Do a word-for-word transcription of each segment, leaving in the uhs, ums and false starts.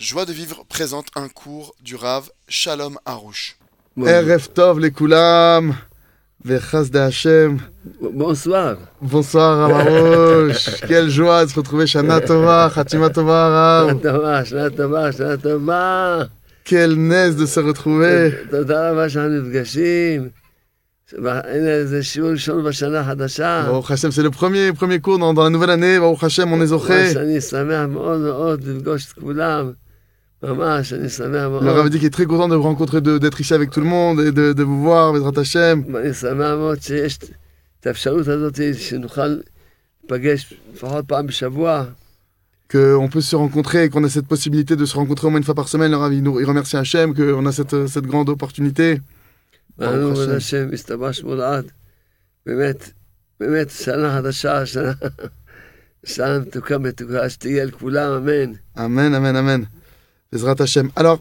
Joie de vivre présente un cours du Rav Shalom Harouche. Erev Tov lekulam, vechasde Hashem. Bonsoir. Bonsoir Rav Harouche. Quelle joie de se retrouver. Shana Tova, Chatima Tova Rav. Shana Tova, Shana Tova, Shana Tova. Quelle naisse de se retrouver. תודה רבה שאנחנו נפגשים. הנה זה שיעור ראשון בשנה החדשה. Baruch Hashem, c'est le premier, premier cours dans, dans la nouvelle année. Baruch Hashem, on est zoché. שאני שמח מאוד מאוד לפגוש את כולם. ממש, אני שמח מאוד. Le Rav dit qu'il est très content de vous rencontrer, de, d'être ici avec tout le monde et de, de vous voir, Bezrat Hashem. ואני שמח מאוד שיש את האפשרות הזאת שנוכל לפגש לפחות פעם בשבוע. Qu'on peut se rencontrer et qu'on a cette possibilité de se rencontrer au moins une fois par semaine. Le Rav, il, nous, il remercie Hachem qu'on a cette, cette grande opportunité. ואנו בן השם מסתבש מולעד. באמת, באמת, שנה חדשה, שנה, שנה מתוקה מתוקה, שתהיה לכולם, אמן. אמן, אמן, אמן. בעזרת השם. Alors,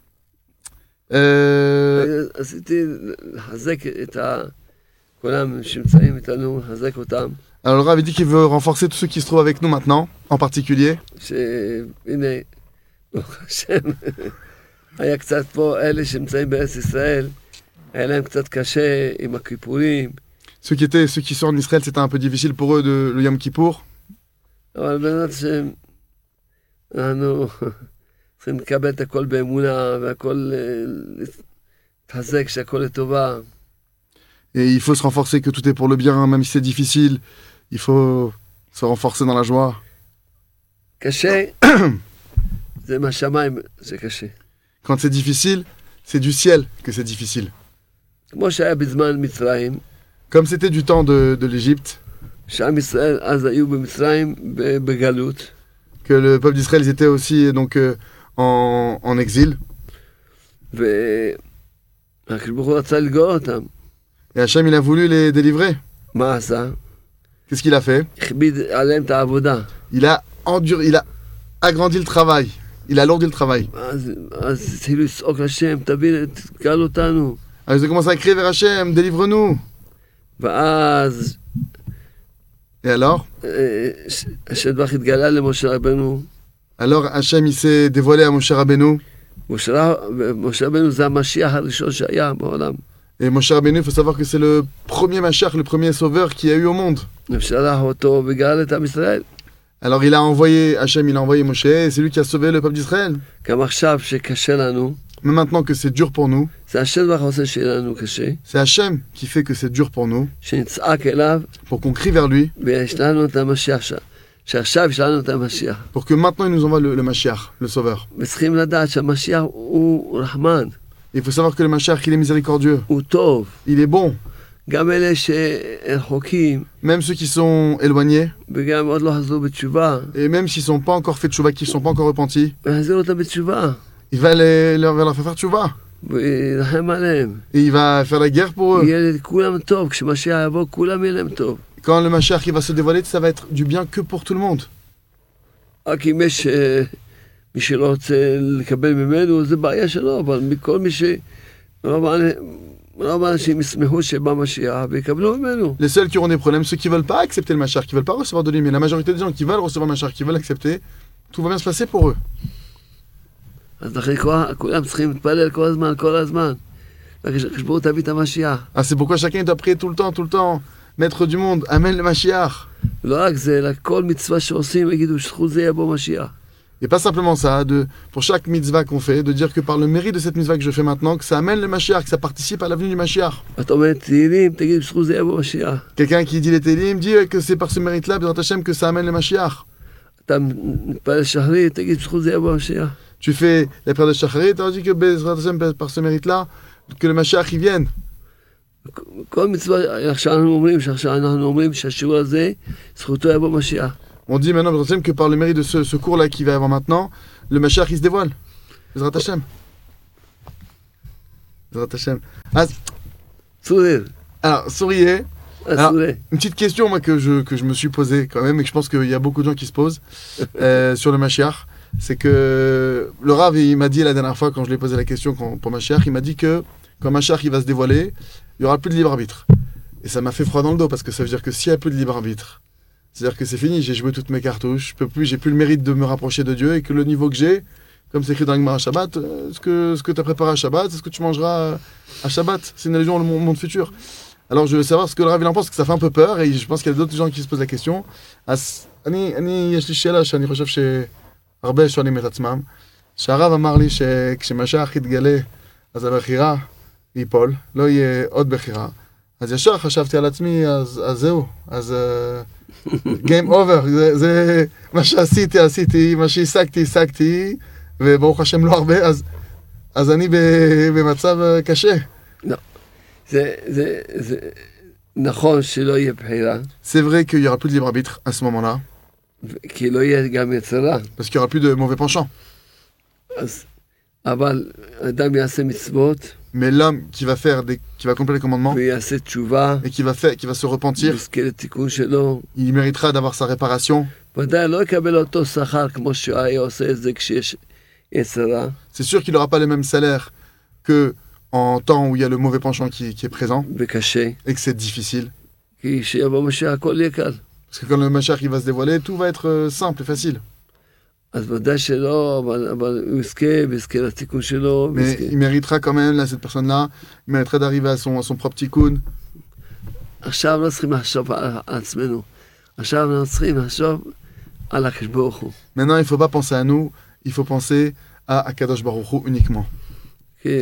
euh... עשיתי לחזק את כולם שנמצאים איתנו, לחזק אותם. Alors, le Rav dit qu'il veut renforcer tous ceux qui se trouvent avec nous maintenant, en particulier. שהנה, ברוך השם, היה קצת פה אלה שנמצאים בארץ ישראל, היה להם קצת קשה עם הכיפורים. Ceux qui étaient, ceux qui sont en Israël, c'était un peu difficile pour eux de le Yom Kippour. אבל בעזרת השם, אנחנו צריכים לקבל את הכל באמונה, והכל להתחזק שהכל לטובה. Et il faut se renforcer que tout est pour le bien, même si c'est difficile. Il faut se renforcer dans la joie. קשה, זה מהשמיים, זה קשה. Quand c'est difficile, c'est du ciel que c'est difficile. כמו שהיה בזמן מצרים. Comme c'était du temps de, de l'Égypte. שעם ישראל אז היו במצרים בגלות. Que le peuple d'Israël, ils étaient aussi donc euh, en, en exil. והקדוש ברוך הוא רצה לגאול אותם. Et Hachem, il a voulu les délivrer. מה עשה? Qu'est-ce qu'il a fait? הכביד עליהם את העבודה. Il a enduré, il a agrandi le travail. Il a alourdi le travail. אז התחילו לצעוק לשם, תביא, תגאל אותנו. Alors ils ont commencé à crier vers Hachem, délivre-nous. ואז Et alors? השם יתברך התגלה למשה רבנו. Alors Hachem, il s'est dévoilé à Moshe Rabbeinu. משה רבנו זה המשיח הראשון שהיה בעולם. Et Moshe Rabbeinu, il faut savoir que c'est le premier Mashiach, le premier sauveur qu'il y a eu au monde. שלח אותו וגאל את עם ישראל. Alors il a envoyé, Hachem, il a envoyé Moshe, et c'est lui qui a sauvé le peuple d'Israël. גם עכשיו שקשה לנו. Mais maintenant que c'est dur pour nous, זה השם יתברך עושה שיהיה לנו קשה. c'est Hachem qui fait que c'est dur pour nous. שנצעק אליו. Pour qu'on crie vers lui. ויש לנו את המשיח שם. שעכשיו יש לנו את המשיח. Pour que maintenant il nous envoie le, le Mashiach, le sauveur. וצריכים לדעת שהמשיח הוא רחמן. Il faut savoir que le Mashiach, il est miséricordieux. הוא טוב. Il est bon. גם אלה שרחוקים. Même ceux qui sont éloignés. וגם עוד לא חזרו בתשובה. Et même s'ils sont pas encore fait tchouva, qui sont pas encore repentis. ויחזיר אותם בתשובה. Il va les, leur, leur faire tchouva. וירחם עליהם. Et il va faire la guerre pour eux. יהיה לכולם טוב. כשמשיח יבוא, כולם יהיה להם טוב. Quand le Mashiach il va se dévoiler, ça va être du bien que pour tout le monde. רק אם יש מי שלא רוצה לקבל ממנו, זה בעיה שלו, אבל מכל מי ש... רוב האנשים ישמחו שבא משיח ויקבלו ממנו. Les seuls qui auront des problèmes, ceux qui veulent pas accepter le Mashiach, qui veulent pas recevoir de lui, mais la majorité des gens qui veulent recevoir le Mashiach, qui veulent accepter, tout va bien se passer pour eux. אז לכן כולם צריכים להתפלל כל הזמן, כל הזמן. כשבואו תביא את המשיח. Ah, c'est pourquoi chacun doit prier tout le temps, tout le temps. Maître du monde, amène le Mashiach. לא רק זה, אלא כל מצווה שעושים, יגידו שזכות זה יבוא משיח. Et pas simplement ça, de, pour chaque mitzvah qu'on fait, de dire que par le mérite de cette mitzvah que je fais maintenant, que ça amène le Mashiach, que ça participe à l'avenue du Mashiach. Quelqu'un qui dit les Télim dit que c'est par ce mérite-là, Bezrat Hashem, que ça amène le Mashiach. Tu fais les prières de Shacharit, tu dis que Bezrat Hashem, par ce mérite-là, que le Mashiach y vienne. כל מצווה שאנחנו אומרים, שאנחנו אומרים שהשיעור הזה, זכותו יבוא משיח. On dit maintenant que par le mérite de ce, ce cours-là qui va y avoir maintenant, le Mashiach il se dévoile. Bezrat Hashem. Bezrat Hashem. Ah, sourire. Alors, souriez. Alors, une petite question moi, que, je, que je me suis posée quand même, et que je pense qu'il y a beaucoup de gens qui se posent euh, sur le Mashiach. C'est que le Rav, il m'a dit la dernière fois, quand je lui ai posé la question quand, pour Mashiach, il m'a dit que quand Mashiach il va se dévoiler, il n'y aura plus de libre arbitre. Et ça m'a fait froid dans le dos, parce que ça veut dire que s'il n'y a plus de libre arbitre, c'est-à-dire que c'est fini, j'ai joué toutes mes cartouches, je peux plus, j'ai plus le mérite de me rapprocher de Dieu, et que le niveau que j'ai, comme c'est écrit dans l'Gemara Shabbat, euh, ce que, ce que tu as préparé à Shabbat, c'est ce que tu mangeras à Shabbat. C'est une allusion au monde, monde futur. Alors je veux savoir ce que le Rav il en pense, parce que ça fait un peu peur, et je pense qu'il y a d'autres gens qui se posent la question. אני, אני, יש לי שאלה שאני חושב שהרבה שואלים את עצמם. שהרב אמר לי שכשמשיח יתגלה, אז הבחירה ייפול, לא יהיה עוד בחירה. אז ישר חשבתי על עצמי, אז, אז זהו, אז uh, game over, זה, זה מה שעשיתי, עשיתי, מה שהשגתי, השגתי, וברוך השם לא הרבה, אז, אז אני במצב קשה. לא, זה, זה, זה נכון שלא יהיה בחירה. C'est vrai qu'il n'y aura plus de libre arbitre à ce moment-là. כי לא יהיה גם יצרה. Parce qu'il n'y aura plus de mauvais penchants. אז, אבל אדם יעשה מצוות. Mais l'homme qui va faire des, qui va accomplir les commandements ויעשה תשובה. et qui va faire, qui va se repentir, ויזכה לתיקון שלו. il méritera d'avoir sa réparation. ודאי לא יקבל אותו שכר כמו שהיה עושה את זה כשיש יצרה. C'est sûr qu'il n'aura pas le même salaire que en temps où il y a le mauvais penchant qui, qui est présent וקשה. et que c'est difficile. כי כשיבוא משיח הכל יהיה קל. Parce que quand le Mashiach il va se dévoiler, tout va être euh, simple et facile. אז ודאי שלא, אבל, אבל הוא יזכה, ויזכה לתיקון שלו. Mais ויזכה. il méritera quand même, là, cette personne-là, il mériterait d'arriver à son, à son propre tikkun. עכשיו לא צריכים לחשוב על עצמנו. עכשיו אנחנו צריכים לחשוב על הקדוש ברוך הוא. Maintenant, il ne faut pas penser à nous, il faut penser à Akadosh Baruch Hu uniquement. כי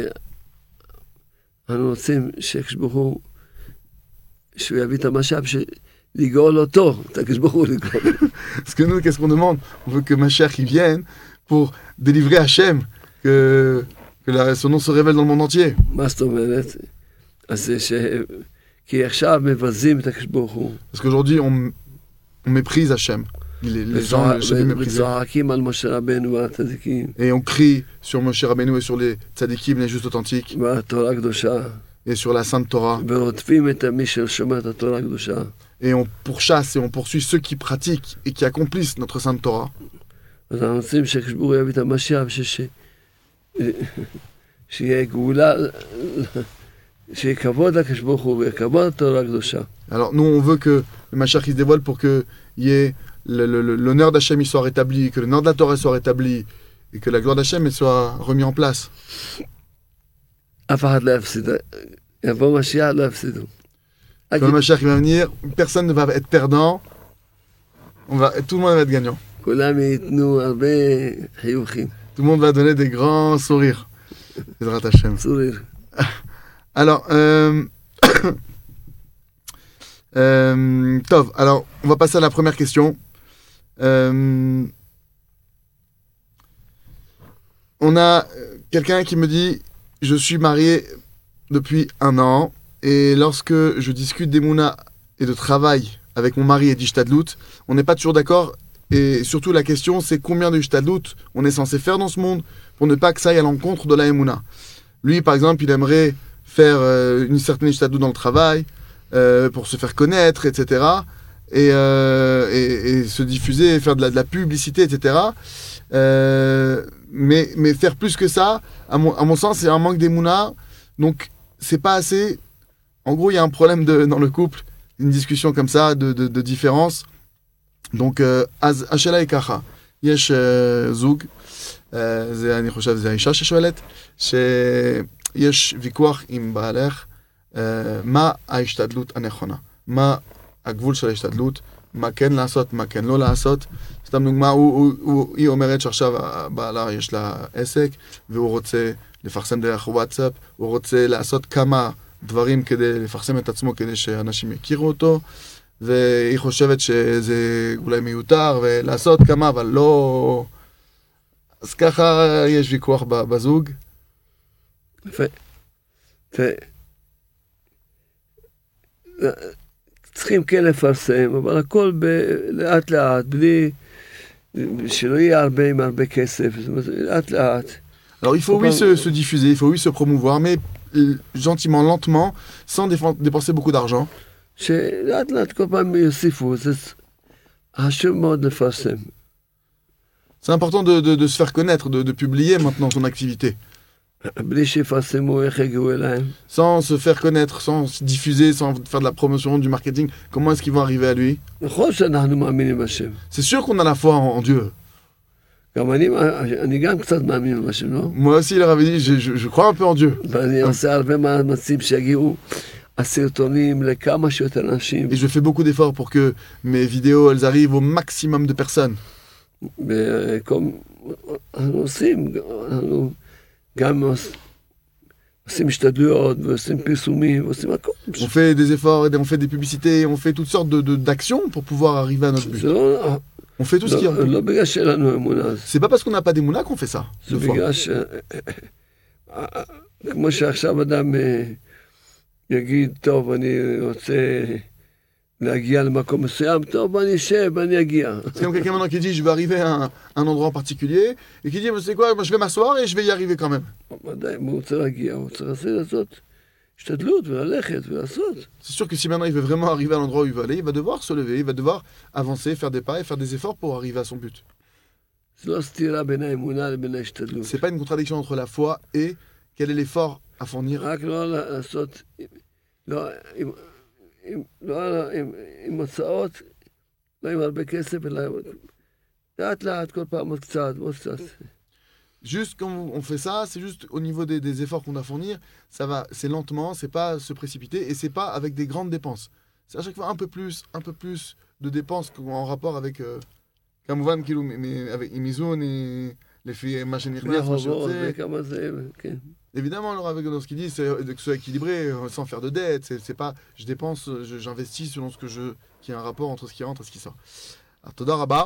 אנחנו רוצים שהקדוש ברוך הוא, שהוא יביא את המשאב, לגאול אותו, את הקדוש ברוך הוא לגאול. Parce que nous, qu'est-ce qu'on demande? On veut que Mashiach il vienne pour délivrer Hachem, que, que la, son nom se révèle dans le monde entier. מה זאת אומרת? אז זה ש... כי עכשיו מבזים את הקדוש ברוך הוא. Parce qu'aujourd'hui, on, on méprise Hachem. Les, les gens, Hachem méprisent. וזועקים על משה רבנו ועל הצדיקים. Et on crie sur Moshe Rabbeinu et sur les tzadikim, les justes authentiques, ועל התורה הקדושה. et sur la Sainte Torah. ורודפים את מי ששומר את התורה הקדושה. Et on pourchasse et on poursuit ceux qui pratiquent et qui accomplissent notre Sainte Torah. אז אנחנו רוצים שהקדוש ברוך הוא יביא את המשיח, שיהיה גאולה, שיהיה כבוד לקדוש ברוך הוא וכבוד לתורה הקדושה. Alors nous, on veut que le Mashiach il se dévoile pour qu'il y ait le, le, le, l'honneur d'Hachem il soit rétabli, que l'honneur de la Torah soit rétabli, et que la gloire d'Hachem elle soit remise en place. אף אחד לא יפסיד, יבוא משיח לא יפסידו. Quand le Mashiach il va venir, personne ne va être perdant, on va, tout le monde va être gagnant. כולם ייתנו הרבה חיוכים. Tout le monde va donner des grands sourires. Bezrat Hachem. צוריר. Alors, euh... euh... Tov, alors, on va passer à la première question. Euh... On a quelqu'un qui me dit, je suis marié depuis un an, et lorsque je discute d'Emouna et de travail avec mon mari et d'Ishtadlut, on n'est pas toujours d'accord, et surtout la question c'est combien de Ishtadlut on est censé faire dans ce monde pour ne pas que ça aille à l'encontre de la Emouna. Lui, par exemple, il aimerait faire euh, une certaine Ishtadlut dans le travail, euh, pour se faire connaître, et cetera, et, euh, et, et se diffuser, faire de la, de la publicité, et cetera. Euh, mais, mais faire plus que ça, à mon, à mon sens, c'est un manque d'Emouna, donc c'est pas assez. En gros, il y a un problème de, dans le couple, une discussion comme ça, de, de, de différence. Donc, אז השאלה היא ככה, יש זוג, זה אני חושב, זה האישה ששואלת, שיש ויכוח עם בעלך, מה ההשתדלות הנכונה, מה הגבול של ההשתדלות, מה כן לעשות, מה כן לא לעשות. סתם דוגמה, הוא, הוא, הוא, היא אומרת שעכשיו בעלה יש לה עסק, והוא רוצה לפרסם דרך וואטסאפ, הוא רוצה לעשות כמה דברים כדי לפרסם את עצמו, כדי שאנשים יכירו אותו, והיא חושבת שזה אולי מיותר, ולעשות כמה, אבל לא... אז ככה יש ויכוח בזוג. יפה. צריכים כן לפרסם, אבל הכל לאט לאט, בלי... שלא יהיה הרבה עם הרבה כסף, זאת אומרת, לאט לאט. Alors il faut oui se, se diffuser, il faut oui se promouvoir, mais gentiment, lentement, sans dépenser beaucoup d'argent. שלאט לאט כל פעם יוסיפו, זה חשוב מאוד לפרסם. C'est important de, de, de se faire connaître, de, de publier maintenant son activité. בלי שיפרסמו, איך יגיעו אליהם? Sans se faire connaître, sans se diffuser, sans faire de la promotion, du marketing, comment est-ce qu'ils vont arriver à lui? נכון שאנחנו מאמינים בשם. C'est sûr qu'on a la foi en, en Dieu. גם אני, אני גם קצת מאמין במשהו, לא? Moi aussi, le Rav dit, je, je, je crois un peu en Dieu. ואני עושה הרבה מאמצים שיגיעו הסרטונים לכמה שיותר אנשים. Et je fais beaucoup d'efforts pour que mes vidéos, elles arrivent au maximum de personnes. וכל, אנחנו עושים, אנחנו גם עושים השתדלויות ועושים פרסומים ועושים הכל. On fait des efforts, on fait des publicités, on fait toutes sortes de, de, d'actions pour pouvoir arriver à notre but. זה לא, On fait tout ce qui לא, est. לא בגלל שאין לנו אמונה. C'est pas parce qu'on n'a pas d'émouna qu'on fait ça. זה Deux fois. בגלל ש... כמו שעכשיו אדם אה, יגיד, טוב, אני רוצה להגיע למקום מסוים, טוב, אני אשב, אני אגיע. C'est comme quelqu'un maintenant qui dit, je vais arriver à un, un endroit en particulier, et qui dit, vous savez quoi, moi, je vais m'asseoir et je vais y arriver quand même. ודאי, אם הוא רוצה להגיע, הוא צריך לעשות השתדלות וללכת ולעשות. C'est sûr que si maintenant il veut vraiment arriver à l'endroit où il veut aller, il va devoir se lever, il va devoir avancer, faire des pas et faire des efforts pour arriver à son but. זה לא סתירה בין האמונה לבין ההשתדלות. C'est pas une contradiction entre la foi et quel est l'effort à fournir. רק לא לעשות, לא, עם, עם, לא, עם, עם הוצאות, לא עם הרבה כסף, אלא לאט לאט, כל פעם עוד קצת, עוד קצת. Juste quand on fait ça, c'est juste au niveau des, des efforts qu'on doit fournir, ça va, c'est lentement, c'est pas se précipiter et c'est pas avec des grandes dépenses. C'est à chaque fois un peu plus, un peu plus de dépenses en rapport avec כמובן כאילו avec איזון לפי מה שנכנס, מה שיוצא. כמה זה, כן. Évidemment, alors avec ce qu'il dit, c'est que ce soit équilibré, sans faire de dette. C'est, c'est pas, je dépense, je, j'investis selon ce que je, qu'il y a un rapport entre ce qui rentre et ce qui sort. Alors, Toda Rabba,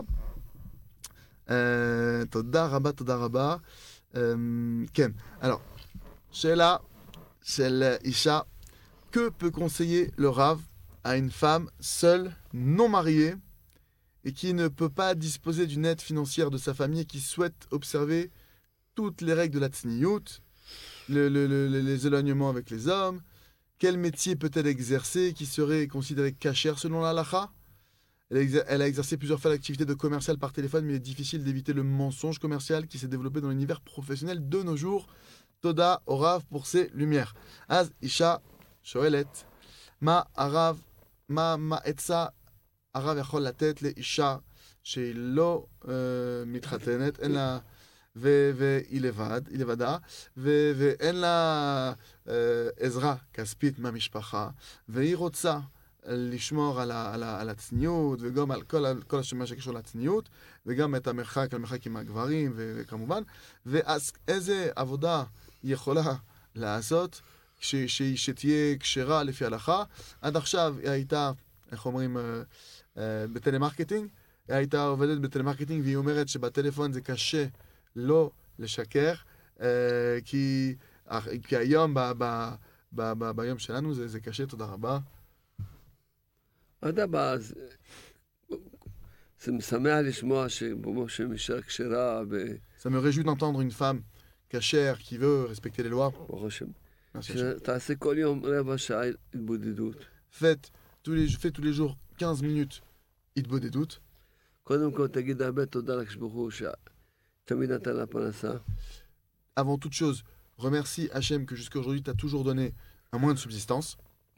euh, Toda Rabba, Toda Rabba, euh, Ken. Alors, Sheila, Shel Isha, que peut conseiller le Rav à une femme seule, non mariée, et qui ne peut pas disposer d'une aide financière de sa famille et qui souhaite observer toutes les règles de la Tsniyut, le, le, le, les éloignements avec les hommes, quel métier peut-elle exercer qui serait considéré kasher selon la halakha? Elle a, exer- elle a exercé plusieurs fois l'activité de commercial par téléphone, mais il est difficile d'éviter le mensonge commercial qui s'est développé dans l'univers professionnel de nos jours. Toda au Rav pour ses lumières. Az Isha Shoelet, Ma Arav, Ma Ma Etza, Arav Yachol la tête, les Isha, chez Lo Mitchatenet, en la. והיא לבד, היא לבדה, ו- ואין לה אה, עזרה כספית מהמשפחה, והיא רוצה לשמור על, ה- על, ה- על הצניעות, וגם על כל, על כל מה שקשור לצניעות, וגם את המרחק, המרחק עם הגברים, ו- וכמובן, ואז איזה עבודה היא יכולה לעשות, ש- ש- שתהיה כשרה לפי ההלכה. עד עכשיו היא הייתה, איך אומרים, אה, אה, בטלמרקטינג, היא הייתה עובדת בטלמרקטינג, והיא אומרת שבטלפון זה קשה, לא לשקר, כי, כי היום, ב, ב, ב, ב, ביום שלנו, זה, זה קשה, תודה רבה. אדרבה, זה משמח לשמוע שמשה אישה כשרה ו... Ça me réjouit d'entendre une femme cachère qui veut respecter les lois. ברוך השם. Merci. שתעשה כל יום רבע שעה התבודדות. Faites tous les, je fais tous les jours quinze minutes התבודדות. קודם כל תגיד הרבה תודה לקדוש ברוך הוא ש... Avant toute chose, remercie Hachem que jusqu'à aujourd'hui tu as toujours donné un moyen de subsistance.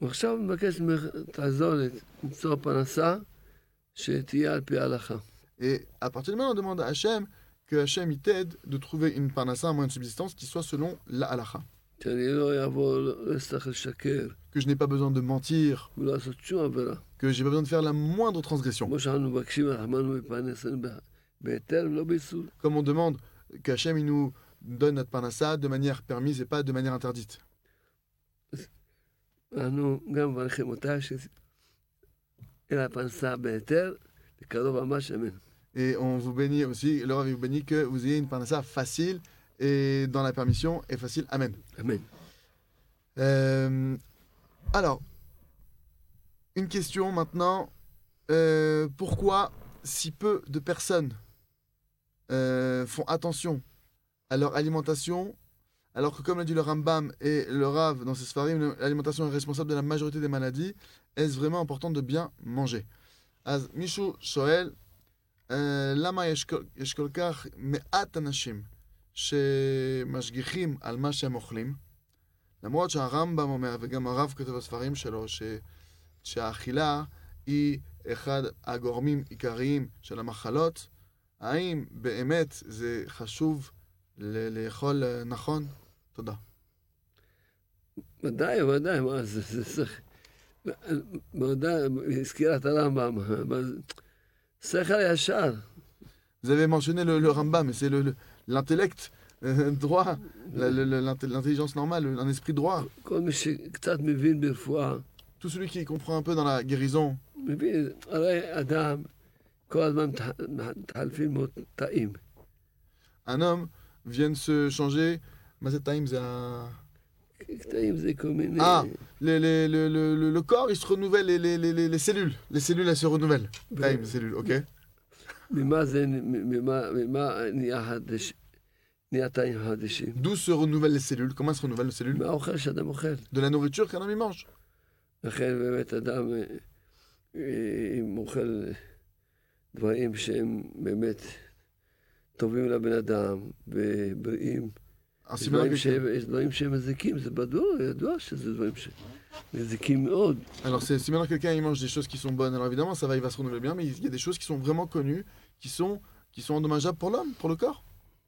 Et à partir de maintenant, on demande à Hachem que Hachem il t'aide de trouver une parnassa, un moyen de subsistance qui soit selon la halakha. Que je n'ai pas besoin de mentir, que j'ai pas besoin de faire la moindre transgression. Comme on demande qu'Hachem il nous donne notre parnassa de manière permise et pas de manière interdite. Et on vous bénit aussi, le Rav vous bénit que vous ayez une parnassa facile et dans la permission et facile. Amen. Amen. Euh, alors, une question maintenant. Euh, pourquoi si peu de personnes Euh, font attention à leur alimentation, alors que comme l'a dit le Rambam et le Rav dans ses Sfarim, l'alimentation est responsable de la majorité des maladies. Est-ce vraiment important de bien manger? אז מישהו שואל, למה יש כל כך מעט אנשים שמשגיחים על מה שהם אוכלים, למרות שהרמב"ם אומר, וגם הרב כותב בספרים שלו, שהאכילה היא אחד הגורמים עיקריים של המחלות, האם באמת זה חשוב ל- לאכול אה, נכון? תודה. ודאי, ודאי, מה זה, זה צריך... ודאי, הזכירה את הרמב"ם, אבל שכל ישר. Vous avez mentionné le, le Rambam, mais c'est le, le- l'intellect euh, droit, la- le- le- l'int- l'intelligence normale, un esprit droit. כל מי שקצת מבין ברפואה, Tout celui qui comprend un peu dans la guérison, מבין, הרי אדם, כל הזמן מתח- מתחלפים לו תאים. un homme vient de se changer. Mazetaim, c'est un... תאים זה כל מיני... Ah, les- les- le, le- le- le corps, il se renouvelle, les, les, les, les- les cellules. Les cellules, elles se renouvellent. Taim, cellules, ok. ממה זה, ממה, ממה נהיה חדש, נהיה תאים חדשים? D'où se renouvellent les cellules? Comment se renouvellent les cellules? מהאוכל שאדם אוכל. De la nourriture qu'un homme y mange. לכן באמת אדם, אה, אה, אם אוכל דברים שהם באמת טובים לבן אדם ובריאים, Ainsi, יש maintenant, דברים quelqu'un- שהם- יש דברים שהם מזיקים, זה בדור, ידוע שזה דברים שמזיקים מאוד. Alors, c'est, si maintenant quelqu'un il mange des choses qui sont bonnes, alors évidemment, ça va, il va se renouveler bien, mais il y a des choses qui sont vraiment connues, qui sont, qui sont endommageables pour l'homme, pour le corps.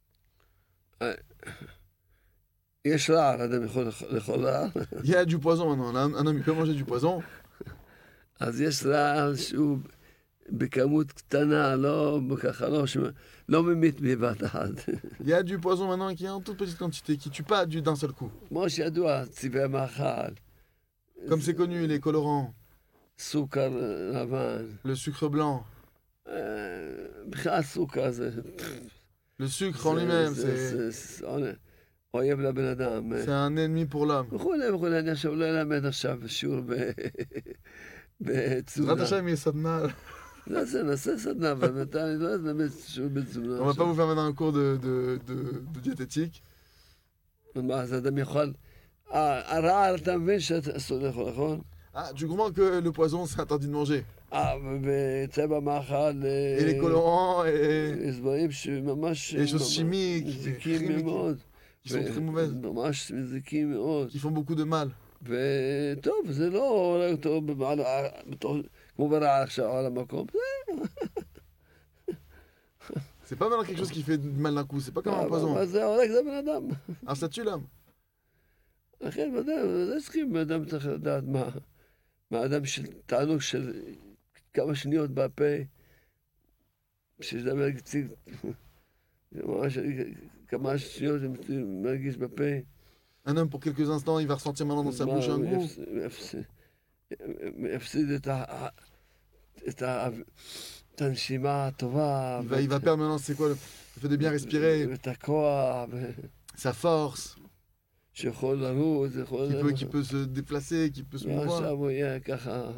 יש רעל, אדם יכול לאכול רעל, Il y a du poison maintenant. Un, un homme, il peut manger du poison. אז יש רעל שהוא בכמות קטנה, לא ככה, לא, שמ- לא ממית בבת אחת. Il y a du poison maintenant qui est en toute petite quantité, qui tue pas du- d'un seul coup. כמו שידוע, צבעי מאכל, Comme c'est connu, les colorants, סוכר לבן, le sucre blanc, אה, בכלל סוכר זה... le sucre en lui-même, זה- c'est, זה- זה עונ- אויב לבן אדם. c'est un ennemi pour l'homme. וכולי וכולי, אני עכשיו לא אלמד עכשיו שיעור ב- בתזונה. Rat Hashem, il est sadna. נעשה, נעשה סדנה, אבל מתי אני לא אלמד שיעור בתזונה. On va pas vous faire maintenant un cours de, de, de, de diététique. מה, אז אדם יכול... אה, הרעל, אתה מבין שאסור לאכול, נכון? Ah, tu comprends que le poison, c'est interdit de manger. אה, ובצבע מאכל... Et les colorants, et יש דברים שממש... les choses chimiques, מזיקים chimiques, מאוד. qui sont très mauvaises, ממש מזיקים מאוד. qui font beaucoup de mal. וטוב, זה לא עולה אותו במעלה, בתור- כמו ברעל עכשיו על המקום. C'est pas maintenant quelque chose qui fait du mal d'un coup, c'est pas comme un אבל poison. זה הורג את הבן אדם. Alors ça tue l'homme. לכן ודאי, זה צריכים, בן אדם צריך לדעת מה, מה אדם של תענוג של כמה שניות בפה, שידבר קצת, ממש כמה שניות הם מרגיש בפה. Un homme, pour quelques instants, il va ressentir maintenant dans sa bouche un goût. יפסיד את ה- את ה- את הנשימה הטובה, Il va, il va perdre maintenant, c'est quoi, le le fait de bien respirer, ואת הכוח, sa force, שיכול לרוץ, יכול... qui peut, qui peut se déplacer, qui peut se ועכשיו mouvoir. הוא יהיה ככה...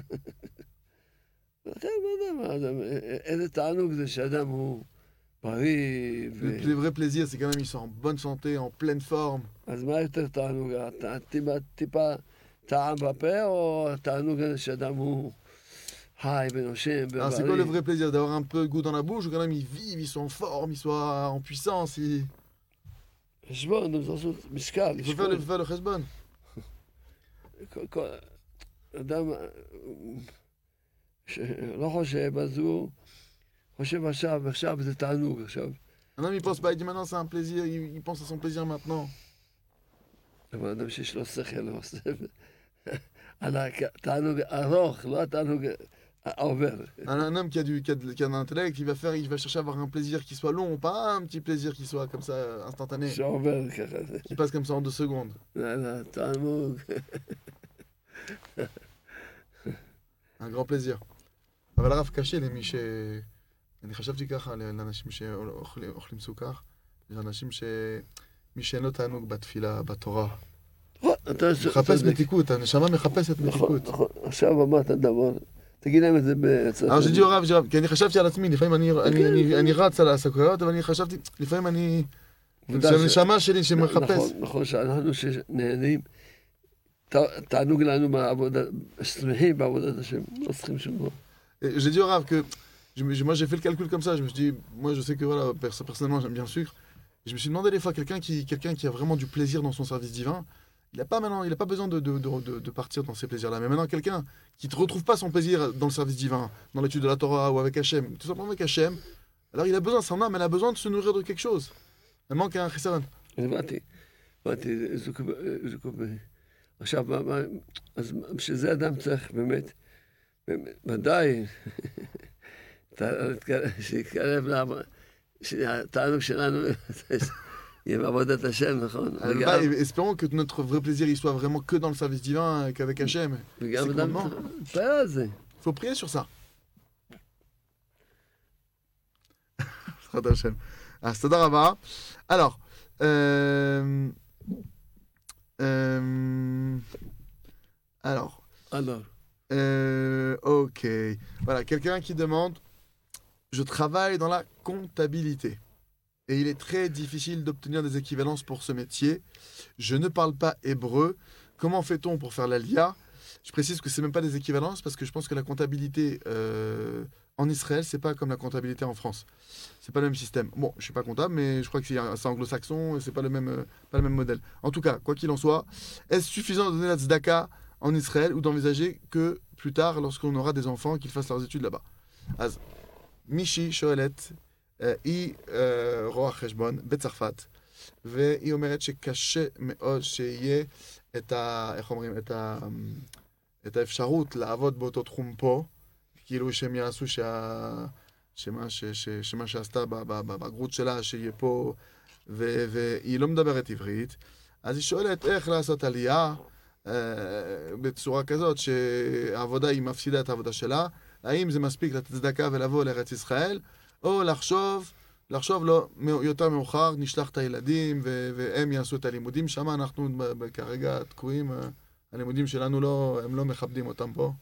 לכן, לא יודע מה, אדם, איזה תענוג זה שאדם הוא בריא, ו... Le, le vrai plaisir, c'est quand même ils sont en bonne santé, en pleine forme. אז מה יותר תענוג? הט- טיפה, טיפה טעם בפה, או התענוג הזה שאדם הוא חי ונושם Alors c'est quoi le ובריא? vrai plaisir? D'avoir un peu de goût dans la bouche ou quand même ils vivent, ils sont en forme, ils sont en puissance, ils... חשבון, אתם לעשות משקל, Il faut faire le, לשקול. faire le cheshbon. כל- כל- אדם שלא חושב, אז הוא חושב עכשיו, עכשיו זה תענוג, עכשיו. Un homme il pense pas, il dit maintenant c'est un plaisir, il, il pense à son plaisir maintenant. אבל אדם שיש לו שכל, הוא עושה על התענוג ארוך, לא התענוג העובר. Un, un homme qui a, du, qui, a de- qui a un intellect, il va, faire, il va chercher à avoir un plaisir qui soit long, pas un petit plaisir qui soit comme ça instantané, שעובר ככה. qui passe comme ça en deux secondes. זה זה תענוג. Un grand plaisir. אבל הרב קשה למי ש... אני חשבתי ככה לאנשים שאוכלים סוכר, לאנשים ש... מי שאין לו תענוג בתפילה, בתורה. נכון, אתה מחפש צודק. מתיקות, הנשמה מחפשת נכון, מתיקות. נכון. עכשיו אמרת דבר, תגיד להם את זה בצד. אבל שג'י הרב, כי אני חשבתי על עצמי, לפעמים אני- אני- אני- אני רץ על הסוכריות, אבל אני חשבתי, לפעמים אני... ודאי ש- שהנשמה שלי שמחפש. נכון, נכון, שאנחנו שנהנים, ת- תענוג לנו בעבודה, שמחים בעבודת השם, לא צריכים שום דבר. Et j'ai dit au Rav que je me- moi j'ai fait le calcul comme ça, je me suis dit, moi je sais que voilà, perso- personnellement j'aime bien le sucre, et je me suis demandé des fois quelqu'un qui, quelqu'un qui a vraiment du plaisir dans son service divin, il n'a pas maintenant, il a pas besoin de, de, de, de, de partir dans ces plaisirs-là, mais maintenant quelqu'un qui ne retrouve pas son plaisir dans le service divin, dans l'étude de la Torah ou avec Hachem, tout simplement avec Hachem, Alors il a besoin, son âme, elle a besoin de se nourrir de quelque chose. Elle manque un chisaron. הבנתי, הבנתי, זוג, זוג, עכשיו, מה, מה, אז בשביל זה אדם צריך באמת, באמת, ודאי, שיתקרב לעבוד, שהתענוג שלנו יהיה בעבודת השם, נכון? Bah, espérons que notre vrai plaisir il soit vraiment que dans le service divin, qu'avec Hachem. וגם אדם צריך להתפלל על זה. Il faut prier sur ça. Hachem. Ah, c'est d'Arava. Alors, euh, euh, alors, alors, euh, ok. Voilà, quelqu'un qui demande, je travaille dans la comptabilité et il est très difficile d'obtenir des équivalences pour ce métier. Je ne parle pas hébreu. Comment fait-on pour faire l'Alia? Je précise que c'est même pas des équivalences parce que je pense que la comptabilité euh, en Israël, c'est pas comme la comptabilité en France. C'est pas le même système. Bon, je suis pas comptable, mais je crois que c'est c'est anglo-saxon et c'est pas le même euh, pas le même modèle. En tout cas, quoi qu'il en soit, est-ce suffisant de donner la tzedaka en Israël ou d'envisager que plus tard, lorsqu'on aura des enfants, qu'ils fassent leurs études là-bas? Az Michi shoelet היא רואה חשבון בצרפת, והיא אומרת שקשה מאוד שיהיה את ה... איך אומרים? את ה... את האפשרות לעבוד באותו תחום פה, כאילו שהם יעשו שה... שמה, ש... ש... שמה שעשתה בבגרות שלה, שיהיה פה, ו... והיא לא מדברת עברית, אז היא שואלת איך לעשות עלייה אה, בצורה כזאת שהעבודה היא מפסידה את העבודה שלה, האם זה מספיק לתת צדקה ולבוא לארץ ישראל, או לחשוב, לחשוב לא, יותר מאוחר, נשלח את הילדים ו... והם יעשו את הלימודים שם, אנחנו כרגע תקועים, הלימודים שלנו לא, הם לא מכבדים אותם פה.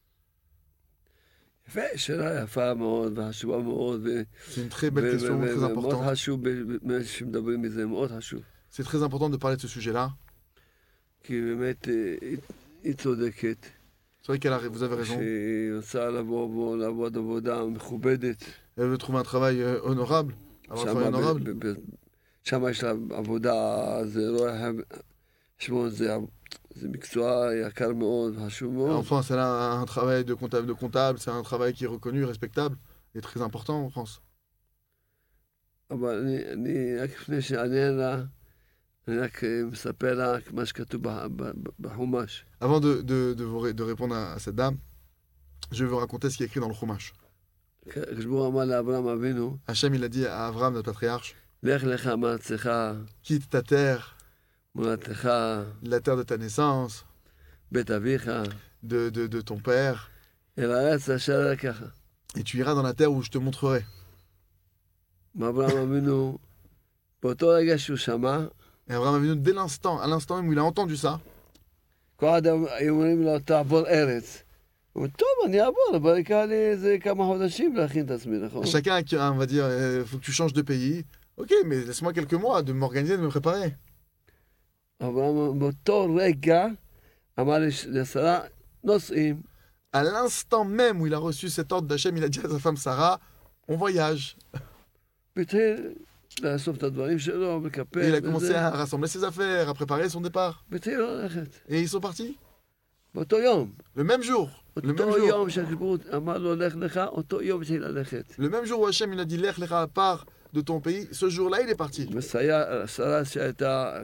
יפה, שאלה יפה מאוד, וחשובה מאוד, C'est une très belle question, très importante. ומאוד חשוב, שמדברים מזה, מאוד חשוב. C'est très important de parler de ce sujet-là. כי באמת, היא צודקת. C'est vrai qu'elle a, vous avez raison. שהיא רוצה לבוא בו, לעבוד עבודה מכובדת. Elle veut trouver un travail euh, honorable, avoir un travail honorable. שם יש לה עבודה, זה רואה חשבון, זה... זה מקצוע יקר מאוד, חשוב מאוד. En France, elle a un travail de comptable, de comptable, c'est un travail qui est reconnu, respectable et très important en France. אבל אני, אני רק לפני שענה לה, אני רק מספר לה מה שכתוב בחומש. Avant de, de, de, vous, de répondre à, à cette dame, je vais vous raconter ce qui est écrit dans le Chumash. כשבור אמר לאברהם אבינו, Hachem, il a dit à Abraham, notre patriarche, לך לך מארצך, quitte ta terre, מולדתך, la terre de ta naissance, בית אביך, de, de, de ton père, אל הארץ אשר אראך. et tu iras dans la terre où je te montrerai. אברהם אבינו, באותו רגע שהוא שמע, Et Abraham Avinu, dès l'instant, à l'instant même où il a entendu ça, כל אדם היו אומרים לו, תעבור ארץ. הוא אומר, טוב, אני אעבור, אבל יקח לי איזה כמה חודשים להכין את עצמי, נכון? chacun, on va dire, il faut que tu changes de pays. Ok, mais laisse-moi quelques mois de m'organiser, de me préparer. אברהם באותו רגע אמר לשרה, נוסעים. À l'instant même où il a reçu cet ordre d'Hachem, il a dit à sa femme Sarah, on voyage. והתחיל לאסוף את הדברים שלו, Et לקפל. il a commencé à rassembler ses affaires, à préparer son départ. והתחיל ללכת. Et ils sont partis. באותו יום. Le même jour. Le même אותו jour. יום שהכיבוד אמר לו, לך לך, אותו יום התחיל ללכת. Le même jour où Hachem il a dit Lech Lecha, part de ton pays, ce jour-là il est parti. ושרה שהייתה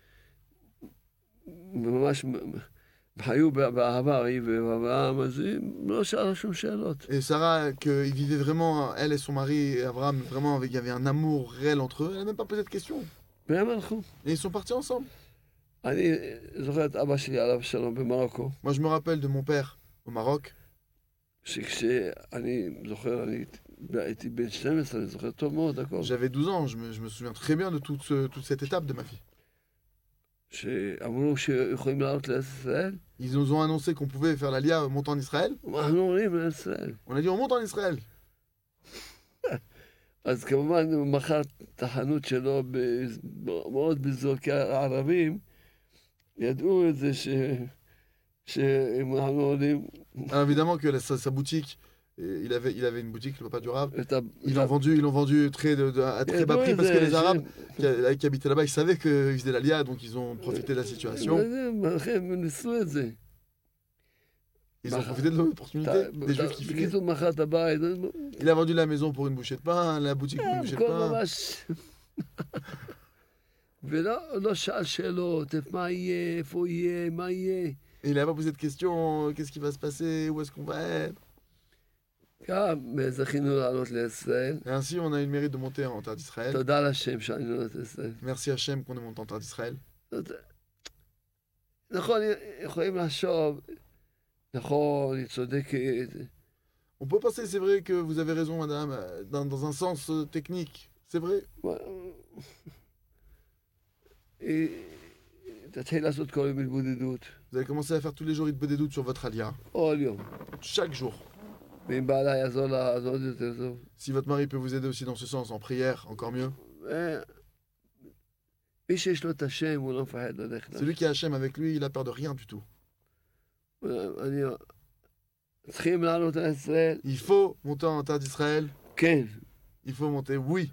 ממש היו באהבה, היא ואברהם, אז היא לא שאלה שום שאלות. Et Sarah, qu'ils vivaient vraiment, elle et son mari, et Abraham, vraiment, avec- il y avait un amour réel entre eux, elle n'a même pas posé de questions. והם הלכו. Et ils sont partis ensemble. אני זוכר את אבא שלי עליו שלום במרוקו, Moi je me rappelle de mon père au Maroc, שכשאני זוכר, אני הייתי בן שתים עשרה, אני זוכר טוב מאוד הכל. j'avais douze ans, je me, je me souviens très bien de toute, ce- toute cette étape de ma vie. שאמרו שיכולים לעלות לארץ ישראל, Ils nous ont annoncé qu'on pouvait faire l'Alia montant en Israël. אנחנו עולים לארץ ישראל. On a dit on monte en Israël. אז כמובן הוא מכר את החנות שלו ב- מאוד בזול, כי הערבים ידעו את זה ש... שאם אנחנו עולים... Alors évidemment que la- sa, sa boutique, euh, il avait, il avait une boutique, le papa du Rav. את ה- Ils l'ont vendu, ils l'ont vendu très de, de- à très bas ידעו prix את parce que זה, les ש- Arabes qui, qui habitaient là-bas, ils savaient qu'ils faisaient l'Alia, donc ils ont profité de la situation. הם ניסו את זה. Ils ont Bah, profité de l'opportunité, אתה- des juifs qui fuyaient. בקיצור, מכר את הבית, Il a vendu la maison pour une bouchée de pain, la boutique pour une bouchée de הכל pain. ממש... ולא לא שאל שאלות, איפה- מה יהיה, איפה הוא יהיה, מה יהיה. Et il n'a pas posé de questions, qu'est-ce qui va se passer, où est-ce qu'on va être. גם זכינו לעלות לישראל. Et ainsi, on a eu le mérite de monter en terre d'Israël. תודה לשם שאני לעלות לישראל. Merci Hachem qu'on est monté en terre d'Israël. זאת- נכון, יכולים לחשוב, נכון, היא צודקת, On peut penser, c'est vrai que vous avez raison, madame, euh, dans, dans un sens euh, technique. C'est vrai. היא תתחיל לעשות כל יום התבודדות, Vous allez commencer à faire tous les jours des doutes sur votre alia. כל יום. Chaque jour. ואם בעלה יעזור לה, אז עוד יותר טוב. Si votre mari peut vous aider aussi dans ce sens, en prière, encore mieux. ו- מי שיש לו את השם, הוא לא מפחד ללכת. Celui qui a Hachem avec lui, il a peur de rien du tout. אני... צריכים לעלות על ישראל? Il faut monter en terre d'Israël. כן. Il faut monter, oui.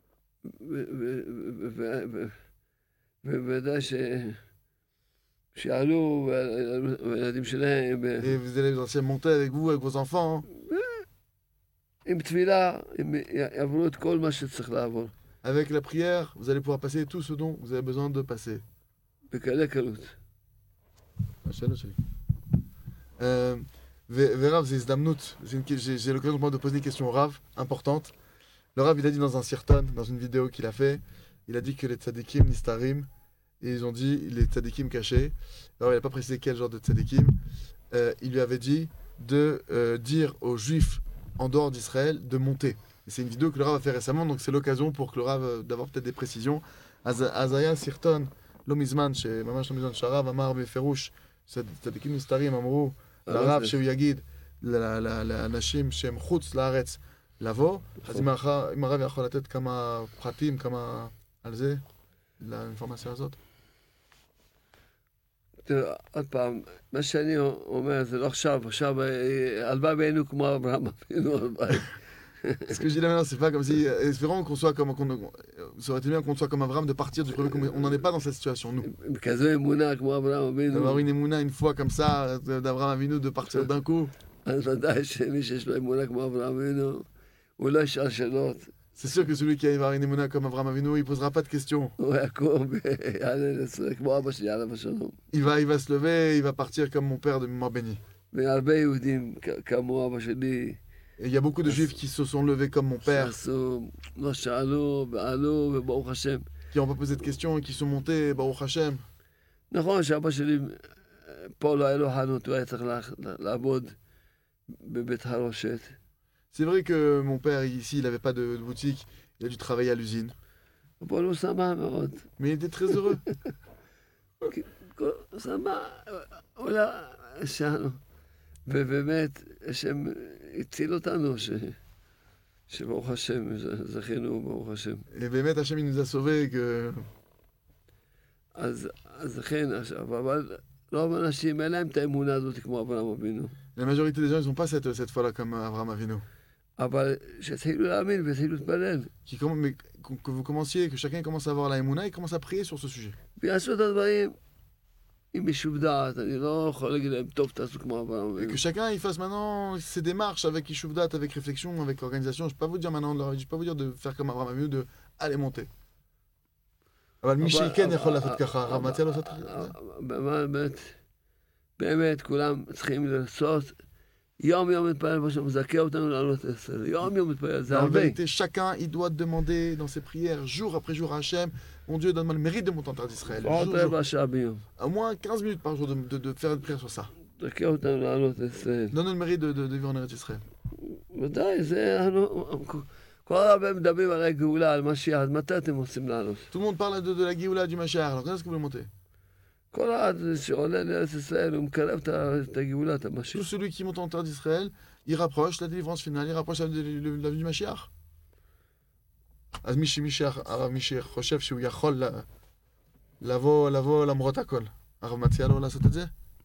ובוודאי ש... שיעלו, והילדים שלהם, Et vous allez aussi monter avec vous, avec vos enfants. hein. עם תפילה, הם יעברו את כל מה שצריך לעבור. Avec la prière, vous allez pouvoir passer tout ce dont vous avez besoin de passer. בקלי קלות. השאלה שלי. Euh, ו- ורב, זה הזדמנות. C'est une- J'ai j'ai l'occasion pour moi de poser une question au Rav, importante. Le Rav, il a dit dans un sirton, dans une vidéo qu'il a fait, il a dit que les tzadikim nistarim, et ils ont dit les tzadikim cachés. Alors, il n'a pas précisé quel genre de tzadikim. Euh, il lui avait dit de euh, dire aux juifs en dehors d'Israël de monter. Et c'est une vidéo que le Rav a fait récemment, donc c'est l'occasion pour que le Rav, euh, d'avoir peut-être des précisions. Az- Azaya sirton, לא מזמן, שממש לא מזמן, שהרב אמר בפירוש, צדיקים נסתרים אמרו לרב שהוא יגיד ל- ל- לאנשים שהם חוץ לארץ לבוא, אז אם הרב- אם הרב יכול לתת כמה פרטים, כמה על זה, לאינפורמציה הזאת. תראה, עוד פעם, מה שאני אומר זה לא עכשיו, עכשיו, אה, הלוואי והיינו כמו אברהם אבינו, הלוואי. Ce que je dis là maintenant, c'est pas comme si, espérons qu'on soit comme, qu'on, ça aurait été bien qu'on soit comme Abraham de partir du premier, on n'en est pas dans cette situation, nous. עם כזו אמונה כמו אברהם אבינו, D'avoir une émouna une fois comme ça, d'Abraham Avinu, de partir d'un coup. אז ודאי שמי שיש לו אמונה כמו אברהם אבינו, הוא לא ישאל שאלות, C'est sûr que celui qui arrive à avoir une émouna comme Abraham Avinu, il posera pas de questions. הוא יקום ויעלה לישראל, כמו אבא שלי עליו השלום. Il va, il va se lever, il va partir comme mon père de mémoire béni. והרבה יהודים כ- כמו אבא שלי, Et il y a beaucoup de juifs qui se sont levés comme mon père, שעשו, לא שאלו, ועלו, וברוך השם. qui n'ont pas posé de questions et qui sont montés, Baruch Hashem. נכון שאבא שלי, פה לא היה לו חנות, הוא היה צריך לה- לעבוד בבית הרושת. C'est vrai que mon père, ici, il n'avait pas de, de boutique, il a dû travailler à l'usine. פה הוא שמח מאוד. Mais il était très heureux. כל- שמח, אולי שאנו. ובאמת, השם הציל אותנו, ש... שברוך השם, ז- זכינו ברוך השם. Et Bémet Hashem, il nous a sauvés que... אז, אז לכן עכשיו, אבל רוב האנשים אין להם את האמונה הזאת כמו אברהם אבינו. La majorité des gens, ils n'ont pas cette, cette foi-là comme Abraham Avinu. אבל שהתחילו להאמין והתחילו להתפלל. Qui, comm- mais que que vous commenciez, que chacun commence à avoir la émouna, il commence à prier sur ce sujet. ויעשו את הדברים עם יישוב דעת. אני לא יכול להגיד להם, טוב, תעשו כמו אברהם Et אבינו. que chacun, il fasse maintenant ses démarches avec Yishuvdat, avec réflexion, avec organisation. Je ne peux pas vous dire maintenant, je ne peux pas vous dire de faire comme Abraham Avinu, de aller monter. אבל מי שכן יכול לעשות ככה, הרב מציע לעשות את זה. באמת, באמת, כולם צריכים לעשות, יום יום מתפלל בשם, מזכה אותנו לעלות עשר, יום יום מתפלל, זה En הרבה. vérité, chacun, il doit demander dans ses prières, jour après jour à Hachem, mon Dieu, donne-moi le mérite de monter en terre d'Israël. עוד Jour, jour. רבע שעה ביום. Au moins quinze minutes par jour de, de, de faire une prière sur ça. מזכה אותנו לעלות עשר. Donne-nous le mérite de, de, de vivre en Eretz Israël. ודאי, זה, אנחנו- כל הרבה מדברים על הגאולה, על משיח, אז מתי אתם רוצים לעלות? Tout le monde parle de, de la Géoula du Mashiach, alors quand est-ce que vous voulez monter? כל אחד שעולה לארץ ישראל, הוא מקרב את ה- את הגאולה, את Tout המשיח. celui qui monte en terre d'Israël, il rapproche la délivrance finale, il rapproche la, la, la, la venue du Mashiach. אז מי שמשיח, הרב מי שחושב שהוא יכול ל- לבוא, לבוא למרות הכל, הרב מציע לו לעשות את זה?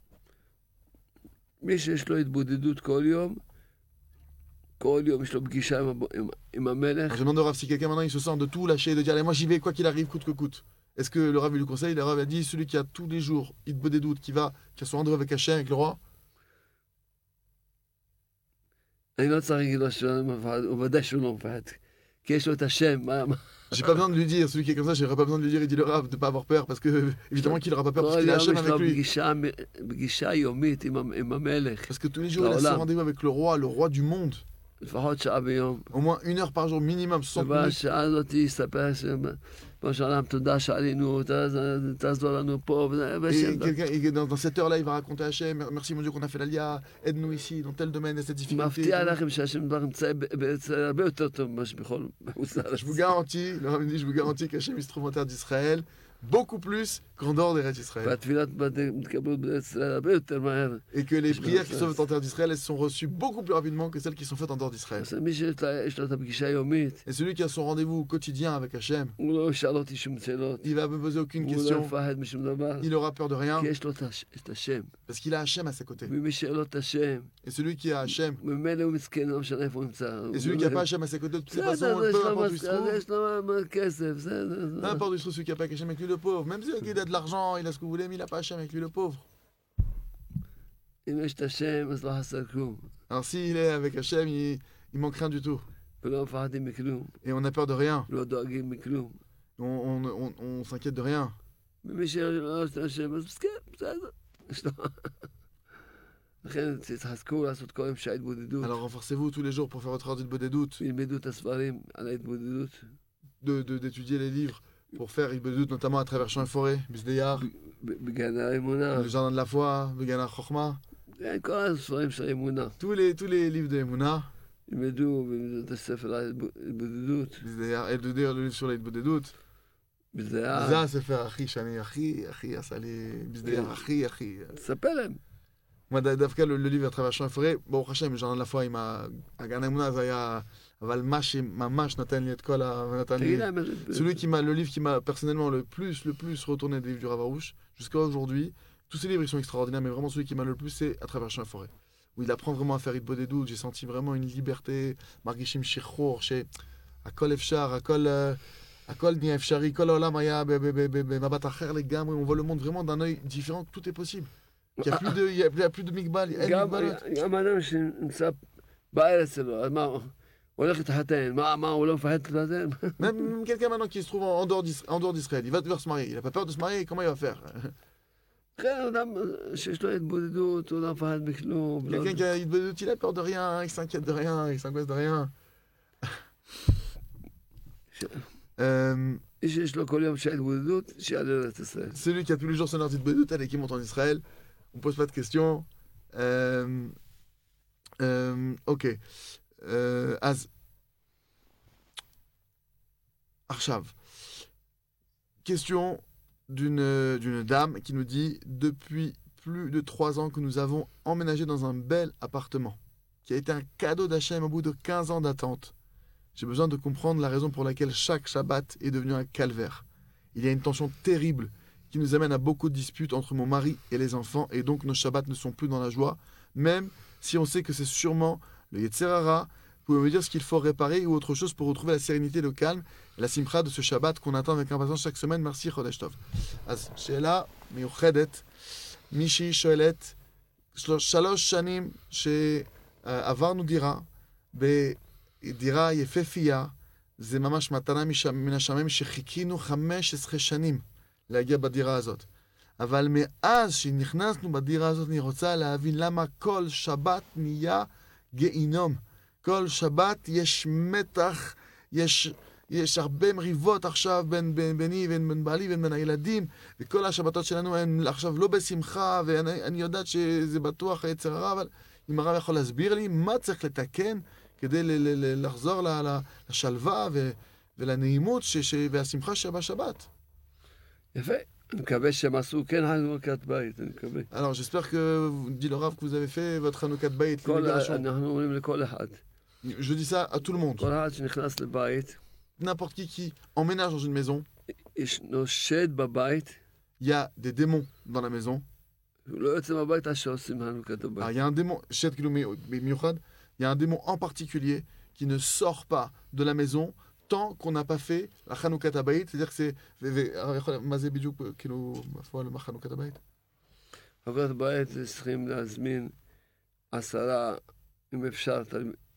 מי שיש לו התבודדות כל יום, כל יום יש לו פגישה עם, הב- עם, עם המלך, Alors, je demande au Rav si quelqu'un maintenant il se sent de tout lâcher, de dire allez moi j'y vais quoi qu'il arrive, coûte que coûte. Est-ce que le Rav lui conseille? Le Rav a dit celui qui a tous les jours, il te des doutes, qui va, qui a son rendez-vous avec Hachem, avec le roi, אני לא צריך להגיד לו שהוא לא מפחד, הוא ודאי שהוא לא מפחד. כי יש לו את השם, מה... מה- J'ai pas besoin de lui dire, celui qui est comme ça, j'aurais pas besoin de lui dire, il dit le Rav, de pas avoir peur, parce que évidemment qu'il aura pas peur, parce כל qu'il a יום Hachem יש avec לו lui. פגישה, פגישה יומית עם, המ- עם המלך, Parce que tous les jours, il a ce Laolam. rendez-vous avec le roi, le roi du monde. לפחות שעה ביום. Au moins une heure par jour minimum, soixante minutes. ובשעה הזאת יספר שבראש העולם תודה שעלינו, ת- תעזור לנו פה, וזה- Et ושם- quelqu'un, et dans, dans cette heure-là, il va raconter à Hachem, merci mon Dieu qu'on a fait l'Alia, aide-nous ici, dans tel domaine, cette difficulté. מבטיח לכם שהשם דבר נמצא ב- ב- הרבה יותר טוב ממה שבכל בחוץ לארץ. Je vous garantis, le Rav me dit, je vous garantis qu'Hachem il se trouve en terre d'Israël, beaucoup plus qu'en dehors des rêves d'Israël. והתפילות מתקבלות בישראל הרבה יותר מהר. Et que les Je prières me qui fais- sont faites en terre d'Israël, elles sont reçues beaucoup plus rapidement que celles qui sont faites en dehors d'Israël. אז מי שיש לה- יש לו את הפגישה היומית, Et celui qui a son rendez-vous quotidien avec Hachem, הוא לא ישאל אותי שום שאלות, il va me poser aucune הוא לא question, יפחד משום דבר, il aura peur de rien, כי יש לו את הש- את השם. parce qu'il a Hachem à ses côtés. ומי שאין לו את השם, Et celui qui a Hachem, ממילא הוא מסכן, לא משנה איפה הוא נמצא. et celui qui n'a pas Hachem à ses côtés, de toutes les façons, בסדר, le יש peu לו importe où il se מס- trouve, יש לו מה- כסף, בסדר. peu importe où il se trouve, celui qui n'a pas Hachem avec lui, le pauvre, même celui qui a de l'argent, il a ce que vous voulez, mais il n'a pas Hachem avec lui, le pauvre. אם יש את השם, אז לא חסר כלום. Alors s'il est avec Hachem, il, il manque rien du tout. ולא מפחדים מכלום, Et on a peur de rien, לא דואגים מכלום. on, on, on, on s'inquiète de rien. ומי שלא יש את השם, אז מסכן, בסדר. יש לו... לכן תתחזקו לעשות כל יום שעה התבודדות. Alors renforcez-vous tous les jours pour faire votre heure de doute, ילמדו את הספרים על ההתבודדות. de, de, d'étudier les livres pour faire il doute, notamment à travers champs et forêts, Bisdeyar, ב- בגן האמונה. le jardin de la foi, Begana Chochma, כן, כל הספרים של האמונה. tous les, tous les livres de Emouna, ילמדו וילמדו את הספר על ההתבודדות. Bisdeyar, et de dire le livre sur les doute. בזיעה. זה הספר הכי שאני הכי הכי עשה לי, Bisdeyar הכי הכי. תספר להם. moi דווקא le, le livre à travers champs et forêts, ברוך השם, le jardin de la foi עם ה- הגן האמונה זה היה, אבל מה שממש נתן לי את כל ה... נתן לי... תגיד להם איזה... Celui qui m'a, le livre qui m'a personnellement le plus, le plus retourné des livres du Rav Arush, jusqu'à aujourd'hui, tous ces livres ils sont extraordinaires, mais vraiment celui qui m'a le plus, c'est à travers champs et forêts, où il apprend vraiment à faire Hitbodedut. J'ai senti vraiment une liberté, Margishim Shirchor, chez Akol Efshar, Akol, euh, Akol Nia Efshari, Kol Olam Aya, Mabat Acher les gammes, on voit le monde vraiment d'un œil différent, tout est possible. Il n'y a plus de, il y a, il y a plus de Migbal, il y a גם Migbalot. גם אדם שנמצא בארץ שלו, אז מה, הוא הולך להתחתן, מה, מה, הוא לא מפחד להתחתן? Même quelqu'un maintenant qui se trouve en en dehors d'Is- en dehors d'Israël, il va devoir se marier, il n'a pas peur de se marier, comment il va faire? כן, אדם שיש לו התבודדות, הוא לא מפחד מכלום. לא- Quelqu'un qui a Hitbodedut, il a peur de rien, il s'inquiète de rien, il s'angoisse de rien. Euh, מי שיש לו כל יום שעה התבודדות, שיעלה לארץ ישראל. celui qui a tous les jours son heure d'Hitbodedut, allez, qui monte en Israël, on pose pas de questions. Euh, euh, ok. Euh, אז, עכשיו, question d'une d'une dame qui nous dit depuis plus de trois ans que nous avons emménagé dans un bel appartement qui a été un cadeau d'Hachem au bout de quinze ans d'attente. J'ai besoin de comprendre la raison pour laquelle chaque Shabbat est devenu un calvaire. Il y a une tension terrible qui nous amène à beaucoup de disputes entre mon mari et les enfants, et donc nos Shabbats ne sont plus dans la joie, même si on sait que c'est sûrement le Yetzer Hara. Vous pouvez me dire ce qu'il faut réparer ou autre chose pour retrouver la sérénité, le calme, la simcha de ce Shabbat qu'on attend avec impatience chaque semaine. Merci, Chodesh Tov. אז שאלה מיוחדת, מישהי שואלת, שלוש שנים שעברנו דירה, בדירה יפהפייה, זה ממש מתנה משם- מן השמיים שחיכינו חמש עשרה שנים להגיע בדירה הזאת. אבל מאז שנכנסנו בדירה הזאת, אני רוצה להבין למה כל שבת נהיה גיהינום. כל שבת יש מתח, יש, יש הרבה מריבות עכשיו בין, בין, ביני ובין בין בעלי ובין בין הילדים, וכל השבתות שלנו הן עכשיו לא בשמחה, ואני אני יודעת שזה בטוח היצר הרע, אבל אם הרב יכול להסביר לי מה צריך לתקן כדי ל, ל, ל, לחזור ל, ל, לשלווה ו, ולנעימות ש, ש, והשמחה שבשבת. יפה. אני מקווה שהם עשו כן חנוכת בית, אני מקווה. Alors j'espère que, dit le Rav, que vous avez fait votre Hanoukat Bayit, כל- libération. אנחנו אומרים לכל אחד. Je dis ça à tout le monde. כל אחד שנכנס לבית, N'importe qui qui emménage dans une maison, ישנו שד בבית, il y a des démons dans la maison. הוא לא יוצא מהבית עד שעושים חנוכת Alors, הבית. il y a un démon, Shet Kilou Mi- Miyuchad, il y a un démon en particulier qui ne sort pas de la maison tant qu'on n'a pas fait la Hanoukat Bayit. C'est-à-dire que c'est. מה זה בדיוק, כאילו, בפועל, מה חנוכת הבית? חנוכת הבית צריכים להזמין עשרה, אם אפשר, תל-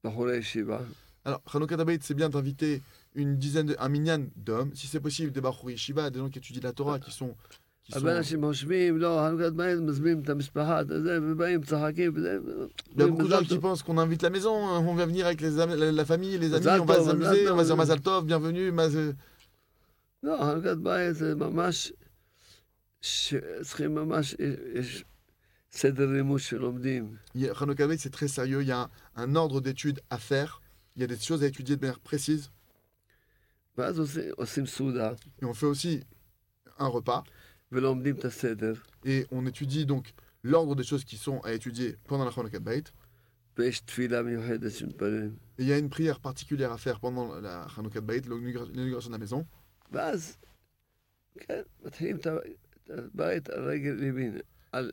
בחורי ישיבה. Alors, Hanoukat Habayit, c'est bien d'inviter une dizaine, de, un minyan d'hommes, si c'est possible, des Bachouri Shiva, des gens qui étudient la Torah, qui sont... Qui sont... הרבה אנשים חושבים, לא, חנוכת בית, מזמינים את המשפחה, את זה, ובאים, צחקים, וזה... Il y a beaucoup de gens qui pensent qu'on invite la maison, on va venir avec les am- la, la famille, les amis, Mazal on va tov, s'amuser, mazal on va tov. dire Mazal Tov, bienvenue, Maz... לא, חנוכת בית זה ממש... צריכים ממש... יש סדר לימוד שלומדים. Hanoukat Habayit, c'est très sérieux, il y a un, un ordre d'études à faire, il y a des choses à étudier de manière précise, ואז עושים- עושים סעודה, et on fait aussi un repas, ולומדים את הסדר, et on étudie donc l'ordre des choses qui sont à étudier pendant la Hanoukat Habayit, ויש תפילה מיוחדת שמתפללים. et il y a une prière particulière à faire pendant la Hanoukat Habayit, l'inauguration de la maison, ואז, כן, מתחילים את ה- את הבית על רגל ימין, על...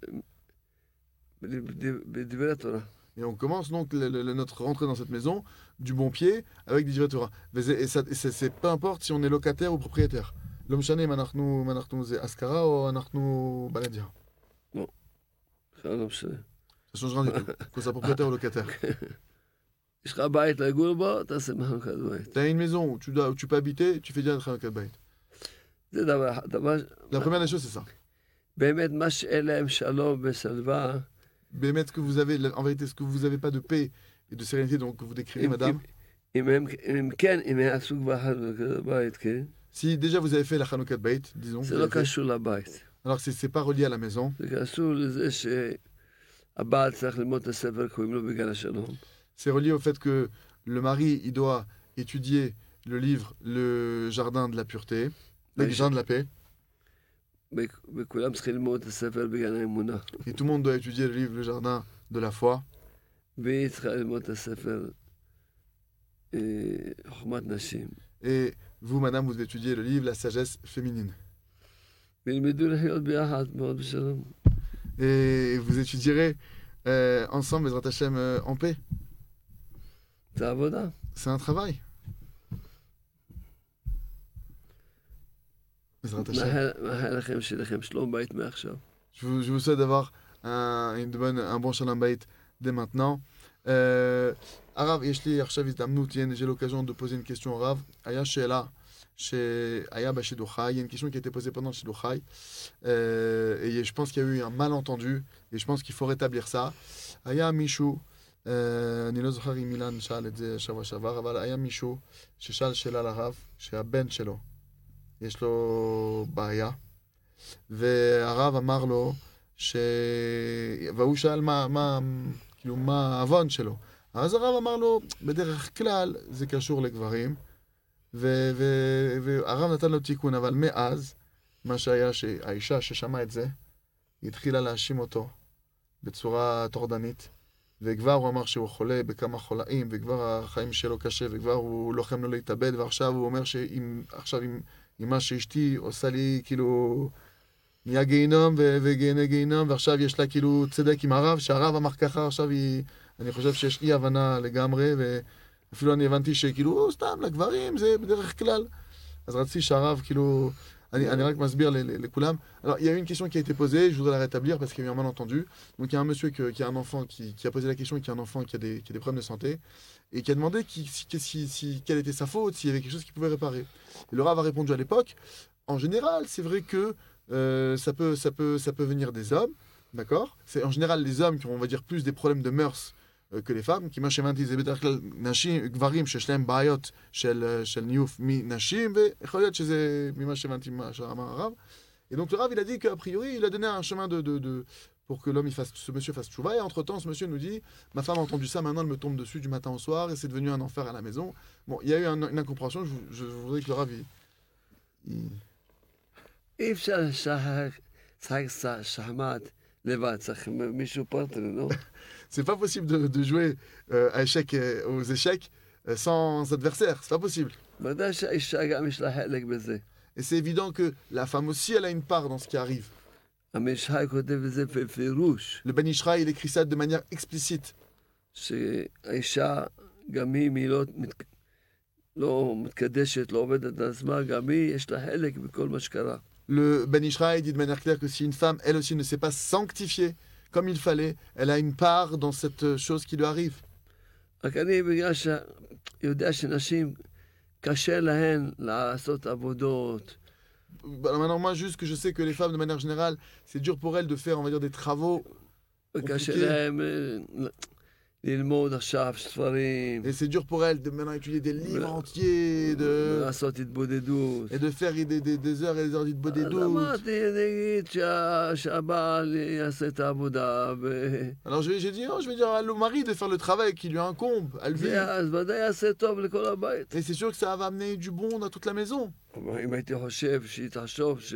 בד- בדברי התורה. et on commence donc le- le- le- notre rentrée dans cette maison du bon pied avec des Divrei Torah. Et ça- et c'est c'est peu importe si on est locataire ou propriétaire. לא משנה אם אנחנו, אם אנחנו זה השכרה או אנחנו בלדיה. בכלל לא משנה. Ça change rien du tout, que ça propriétaire ou locataire. יש לך בית לגור בו, תעשה בחנוכת בית. T'as une maison où tu, dois, où tu peux habiter, tu fais direct Hanoukat Habayit. זה דבר אחד. דבר... La première des choses, c'est ça. באמת, מה שאין להם שלום ושלווה, Mais mettre que vous avez, en vérité, ce que vous n'avez pas de paix et de sérénité, donc que vous décrivez, אם- madame, אם הם אם כן, אם הם יעשו כבר חנוכת בית, כן? si déjà vous avez fait la Hanoukat Habayit, disons, זה vous לא avez fait, קשור לבית. alors c'est c'est pas relié à la maison, זה קשור לזה שהבעל צריך ללמוד את הספר, קוראים לו בגן השלום. c'est relié au fait que le mari, il doit étudier le livre, le jardin de la pureté, le Oui, jardin de la paix, וכ- וכולם צריכים ללמוד את הספר בגן האמונה. et tout le monde doit étudier le livre, le jardin de la foi, והיא צריכה ללמוד את הספר אה, חוכמת נשים. et vous, madame, vous étudiez le livre, la sagesse féminine. וילמדו לחיות ביחד מאוד בשלום. Et vous étudierez euh, ensemble, Bezrat Hashem, euh, en paix. זה עבודה. C'est un travail. Bezrat Hashem. מאחל מאחל לכם שיהיה לכם שלום בית מעכשיו. Je vous, je vous souhaite d'avoir un, une bonne, un bon Shalom Bayit dès maintenant. Euh, Arav, יש לי עכשיו הזדמנות, j'ai l'occasion de poser une question au Rav. היה שאלה שהיה בשידור חי, il y a une question qui a été posée pendant le שידור חי, euh, et je pense qu'il y a eu un malentendu, et je pense qu'il faut rétablir ça. היה מישהו, אה, אני לא זוכר אם אילן שאל את זה שבוע שעבר, אבל היה מישהו ששאל שאלה לרב, שהבן שלו, יש לו בעיה, והרב אמר לו, ש... והוא שאל מה, מה, כאילו, מה העוון שלו. אז הרב אמר לו, בדרך כלל זה קשור לגברים, ו... ו... והרב נתן לו תיקון, אבל מאז, מה שהיה שהאישה ששמעה את זה, היא התחילה להאשים אותו בצורה טורדנית, וכבר הוא אמר שהוא חולה בכמה חולאים, וכבר החיים שלו קשה, וכבר הוא לוחם לו להתאבד, ועכשיו הוא אומר שאם, עכשיו עם, עם מה שאשתי עושה לי, כאילו, נהיה גיהינום וגיהני גיהינום, ועכשיו יש לה כאילו צדק עם הרב, שהרב אמר ככה, עכשיו היא, אני חושב שיש אי הבנה לגמרי, ואפילו אני הבנתי שכאילו, סתם, לגברים זה בדרך כלל. אז רציתי שהרב, כאילו, אני, אני רק מסביר לכולם. Alors, il y a eu une question qui a été posée, je voudrais la rétablir parce qu'il y a eu un malentendu. Donc, il y a un monsieur que, qui a un enfant qui, qui a posé la question et qui a un enfant qui a des, qui a des problèmes de santé et qui a demandé qui, si, si, si, quelle était sa faute, s'il y avait quelque chose qu'il pouvait réparer. Et le Rav a répondu à l'époque, en général, c'est vrai que euh, ça, peut, ça, peut, ça peut venir des hommes, d'accord? C'est en général les hommes qui ont, on va dire, plus des problèmes de mœurs que les femmes, כי מה שהבנתי זה בדרך כלל נשים, גברים שיש להם בעיות של, של ניוף מנשים, ויכול להיות שזה ממה שהבנתי מה שאמר הרב. Et donc le Rav, il a dit qu'a priori, il a donné un chemin de, de, de, pour que l'homme, il fasse, ce monsieur fasse tchouva, et entre-temps, ce monsieur nous dit, ma femme a entendu ça, maintenant elle me tombe dessus du matin au soir, et c'est devenu un enfer à la maison. Bon, il y a eu un, une incompréhension, je, je voudrais que le Rav, il... il... אי אפשר לשחק שחמט לבד, צריך מישהו פרטנר, לא? C'est pas possible de, de jouer euh, à échec, euh, aux échecs euh, sans adversaire, c'est pas possible. ודאי שהאישה גם יש לה חלק בזה. Et c'est évident que la femme aussi, elle a une part dans ce qui arrive. המשחק כותב את זה בפירוש, Le Ben Ishraï, il écrit ça de manière explicite. שהאישה, גם היא, היא לא, מת... לא מתקדשת, לא עובדת על עצמה, גם היא, יש לה חלק בכל מה שקרה. Le Ben Ishraï dit de manière claire que si une femme, elle aussi, ne s'est pas sanctifiée comme il fallait, elle a une part dans cette chose qui lui arrive. רק אני, בגלל שיודע שנשים קשה להן לעשות עבודות. Bah, maintenant, moi, juste que je sais que les femmes, de manière générale, c'est dur pour elles de faire, on va dire, des travaux וקשה compliqués. להם אה, ללמוד עכשיו ספרים, Et c'est dur pour elles de maintenant étudier des livres entiers de... לעשות התבודדות. et de faire des, des, des heures et des heures אז d'itbodedut. אמרתי, נגיד שה- שהבעל יעשה את העבודה, ו- Alors je- j'ai dit, oh, je vais dire à le mari de faire le travail qui lui incombe, à lui. ואז ודאי יעשה טוב לכל הבית. Et c'est sûr que ça va amener du bon à toute la maison. אבל אם הייתי חושב שהיא תחשוב ש-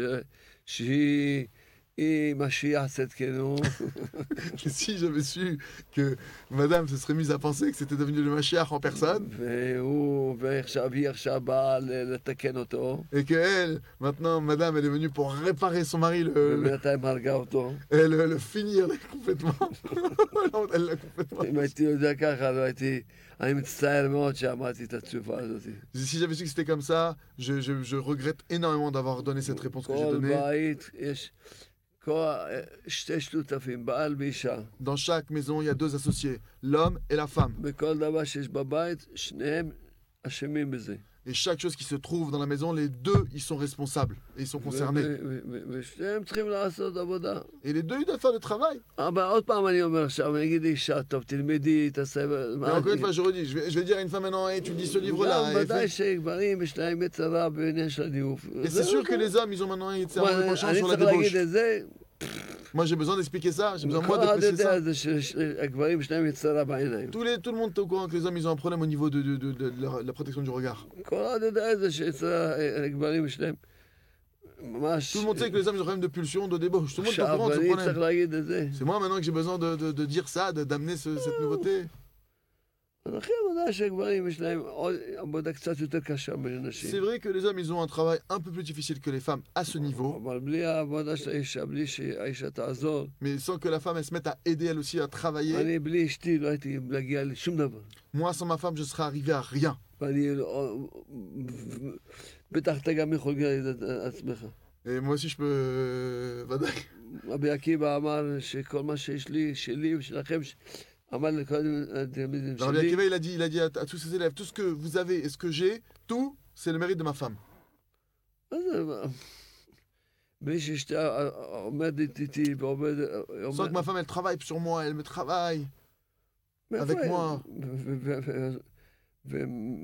שהיא היא משיח צדקנו, Et si j'avais su que madame se serait mise à penser que c'était devenu le Mashiach en personne, והוא, ועכשיו היא עכשיו באה ל- לתקן אותו, et que elle, maintenant, madame, elle est venue pour réparer son mari, le, le, ובינתיים הרגה אותו. et le, le finir complètement. Non, elle l'a complètement. אם הייתי יודע ככה, לא הייתי... אני מצטער מאוד שאמרתי את התשובה הזאת. Si j'avais su que c'était comme ça, je, je, je regrette énormément d'avoir donné cette réponse que j'ai כל donnée. בית יש כל- שתי שותפים, בעל ואישה. Dans chaque maison, il y a deux associés, l'homme et la femme. בכל דבר שיש בבית, שניהם אשמים בזה. Et chaque chose qui se trouve dans la maison, les deux, ils sont responsables. Et ils sont concernés. ו- ו- ו- ושניהם צריכים לעשות עבודה. Et les deux, ils doivent faire le travail. אבל עוד פעם אני אומר עכשיו, אני אגיד לאישה, טוב, תלמדי, תעשה... Mais encore une fois, je redis, je vais, je vais dire à une femme maintenant, hey, tu lis ce livre-là. גם et ודאי fais- שגברים יש להם יצרה בעניין של הדיוף. Et c'est sûr que les hommes, ils ont maintenant un penchant אני sur la צריך להגיד débauche. את זה, Moi, j'ai besoin d'expliquer ça. J'ai besoin, moi, כל de אחד préciser יודע ça. את זה שהגברים יש להם יצרה בעיניים. Tous les, tout le monde est au courant que les hommes, ils ont un problème au niveau de, de, de, de la, la protection du regard. כל אחד יודע את זה שיצרה, הגברים יש להם ממש... Tout le monde sait que les hommes, ils ont un problème de pulsion, de débauche. Tout le monde est au עכשיו courant de ce אני צריך problème. להגיד את זה. C'est moi maintenant que j'ai besoin de, de, de dire ça, de- d'amener ce- cette nouveauté. אז לכן ודאי שהגברים יש להם עוד עבודה קצת יותר קשה מנשים. C'est vrai que les hommes, ils ont un travail un peu plus difficile que les femmes à ce niveau. אבל בלי העבודה של האישה, בלי שהאישה תעזור, Mais sans que la femme, elle se mette à aider elle aussi à travailler. אני בלי אשתי לא הייתי להגיע לשום דבר. Moi, sans ma femme, je serais arrivé à rien. ואני לא- בטח אתה גם יכול להגיד את עצמך. Et moi aussi, je peux... ודאי. רבי עקיבא אמר שכל מה שיש לי, שלי ושלכם, ש- אמר לכל התלמידים Rabbi שלי, Akiva, il a dit, il a dit à, à tous ses élèves, tout ce que vous avez et ce que j'ai, tout, c'est le mérite de ma femme. מה זה, מה? בלי שאשתה עומדת איתי ועומד... Sans que ma femme, elle travaille sur moi, elle me travaille. מאיפה avec היא? moi. ו- ו- ו- ו-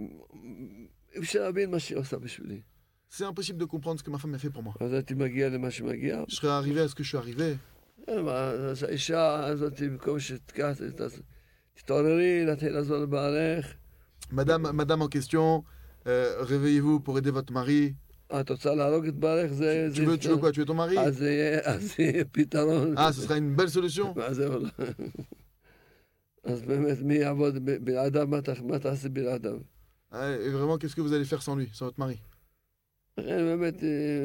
אי אפשר להבין מה שהיא עושה בשבילי. C'est impossible de comprendre ce que ma femme a fait pour moi. אז הייתי מגיע למה שמגיע. Je serais arrivé à ce que je suis arrivé. אז האישה הזאת, במקום שתקח, תתעוררי, להתחיל לעזור לבעלך. Madame, madame en question, euh, réveillez-vous pour aider votre mari. את רוצה להרוג את בעלך? זה... Tu veux, tu veux quoi? Tu veux ton mari? אז זה יהיה- אז זה יהיה פתרון. Ah, ce sera une belle solution. אז זהו. אז באמת, מי יעבוד ב- בלעדיו? מה ת- מה תעשה בלעדיו? Ah, et vraiment, qu'est-ce que vous allez faire sans lui, sans votre mari? לכן באמת, אה,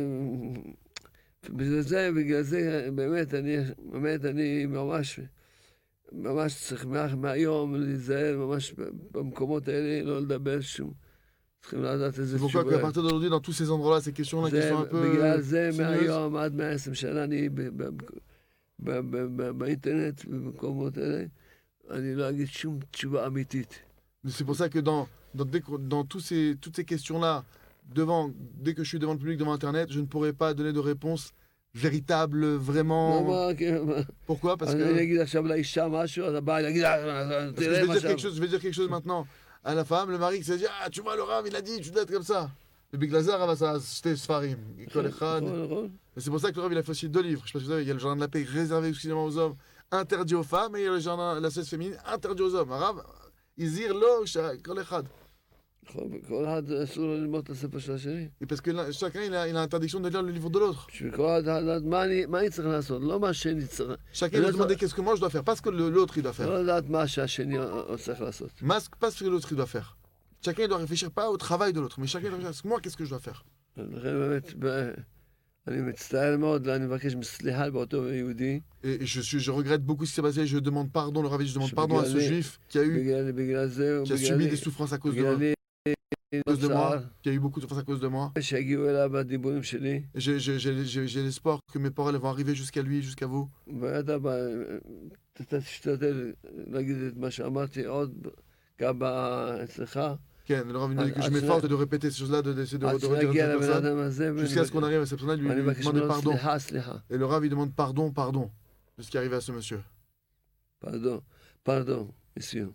בגלל זה, בגלל זה, באמת, אני, באמת, אני ממש, ממש צריך מה- מהיום להיזהר ממש במקומות האלה, לא לדבר שום. צריכים לדעת איזה C'est pourquoi qu'à תשובה. partir d'aujourd'hui, dans tous ces endroits-là, ces questions-là qui זה, sont un peu בגלל זה sinueuses, מהיום עד מאה ועשרים שנה אני ב- ב- ב- ב- ב- באינטרנט, במקומות האלה, אני לא אגיד שום תשובה אמיתית. c'est pour ça que dans, dans, dès que- dans tous ces, toutes ces questions-là, devant, dès que je suis devant le public, devant Internet, je ne pourrai pas donner de réponse véritable, לא, vraiment. מה, כן, מה, Pourquoi? Parce אז que אני אגיד עכשיו לאישה משהו, אז הבעל יגיד, "אה, parce que je תראה vais מה dire שם. quelque chose, je vais dire quelque chose maintenant à la femme, le mari qui s'est dit, ah, tu vois, le Rav, il a dit, tu dois être comme ça. Le Big Lazar, Rav, ça, c'était Sfarim. Kol Echad. נכון, נכון. Et c'est pour ça que le Rav, il a fait aussi deux livres. Je sais pas si vous savez, il y a le jardin de la paix réservé exclusivement aux hommes, interdit aux femmes, et il y a le jardin, la cesse féminine, interdit aux hommes. Rav, Izir lo, Kol Echad. נכון, וכל אחד אסור לו ללמוד את הספר של השני. Et parce que là, chacun, il a, il a l'interdiction de lire le livre de l'autre. בשביל כל אחד לדעת מה אני מה אני צריך לעשות, לא מה השני צריך. Chacun va demander qu'est-ce que moi je dois faire, pas ce que le- l'autre il doit faire. לא לדעת מה שהשני צריך לעשות. Mas- Pas ce que l'autre il doit faire. Chacun il doit réfléchir pas au travail de l'autre, mais chacun doit réfléchir, moi qu'est-ce que je dois faire. לכן באמת, ב- אני מצטער מאוד, אני מבקש סליחה באותו יהודי, Et je, suis, je regrette beaucoup ce qui s'est passé, je demande pardon, le Rav, je demande Je pardon à ce bégayais. juif qui a eu, בגלל בגלל זה, qui a subi des souffrances à cause de moi, בגללי à cause de moi, צער, qui a eu beaucoup de souffrances à cause de moi. שיגיעו אליו הדיבורים שלי, Et J'ai j'ai- j'ai- j'ai- j'ai l'espoir que mes paroles elles vont arriver jusqu'à lui, jusqu'à vous. ואתה בא, אתה תשתדל להגיד את מה שאמרתי עוד גם אצלך, כן, le Rav il nous dit que je אז- m'efforce de répéter ces choses-là, de- d'essayer de, עד de redire à שנגיע cette לבן personne, אדם הזה, ואני jusqu'à ce qu'on arrive à cette personne-là, lui, ואני lui מבקש demander ממנו pardon. סליחה, סליחה. Et le Rav il demande pardon, pardon de ce qui est arrivé à ce monsieur. פרדון, פרדון, מסיום.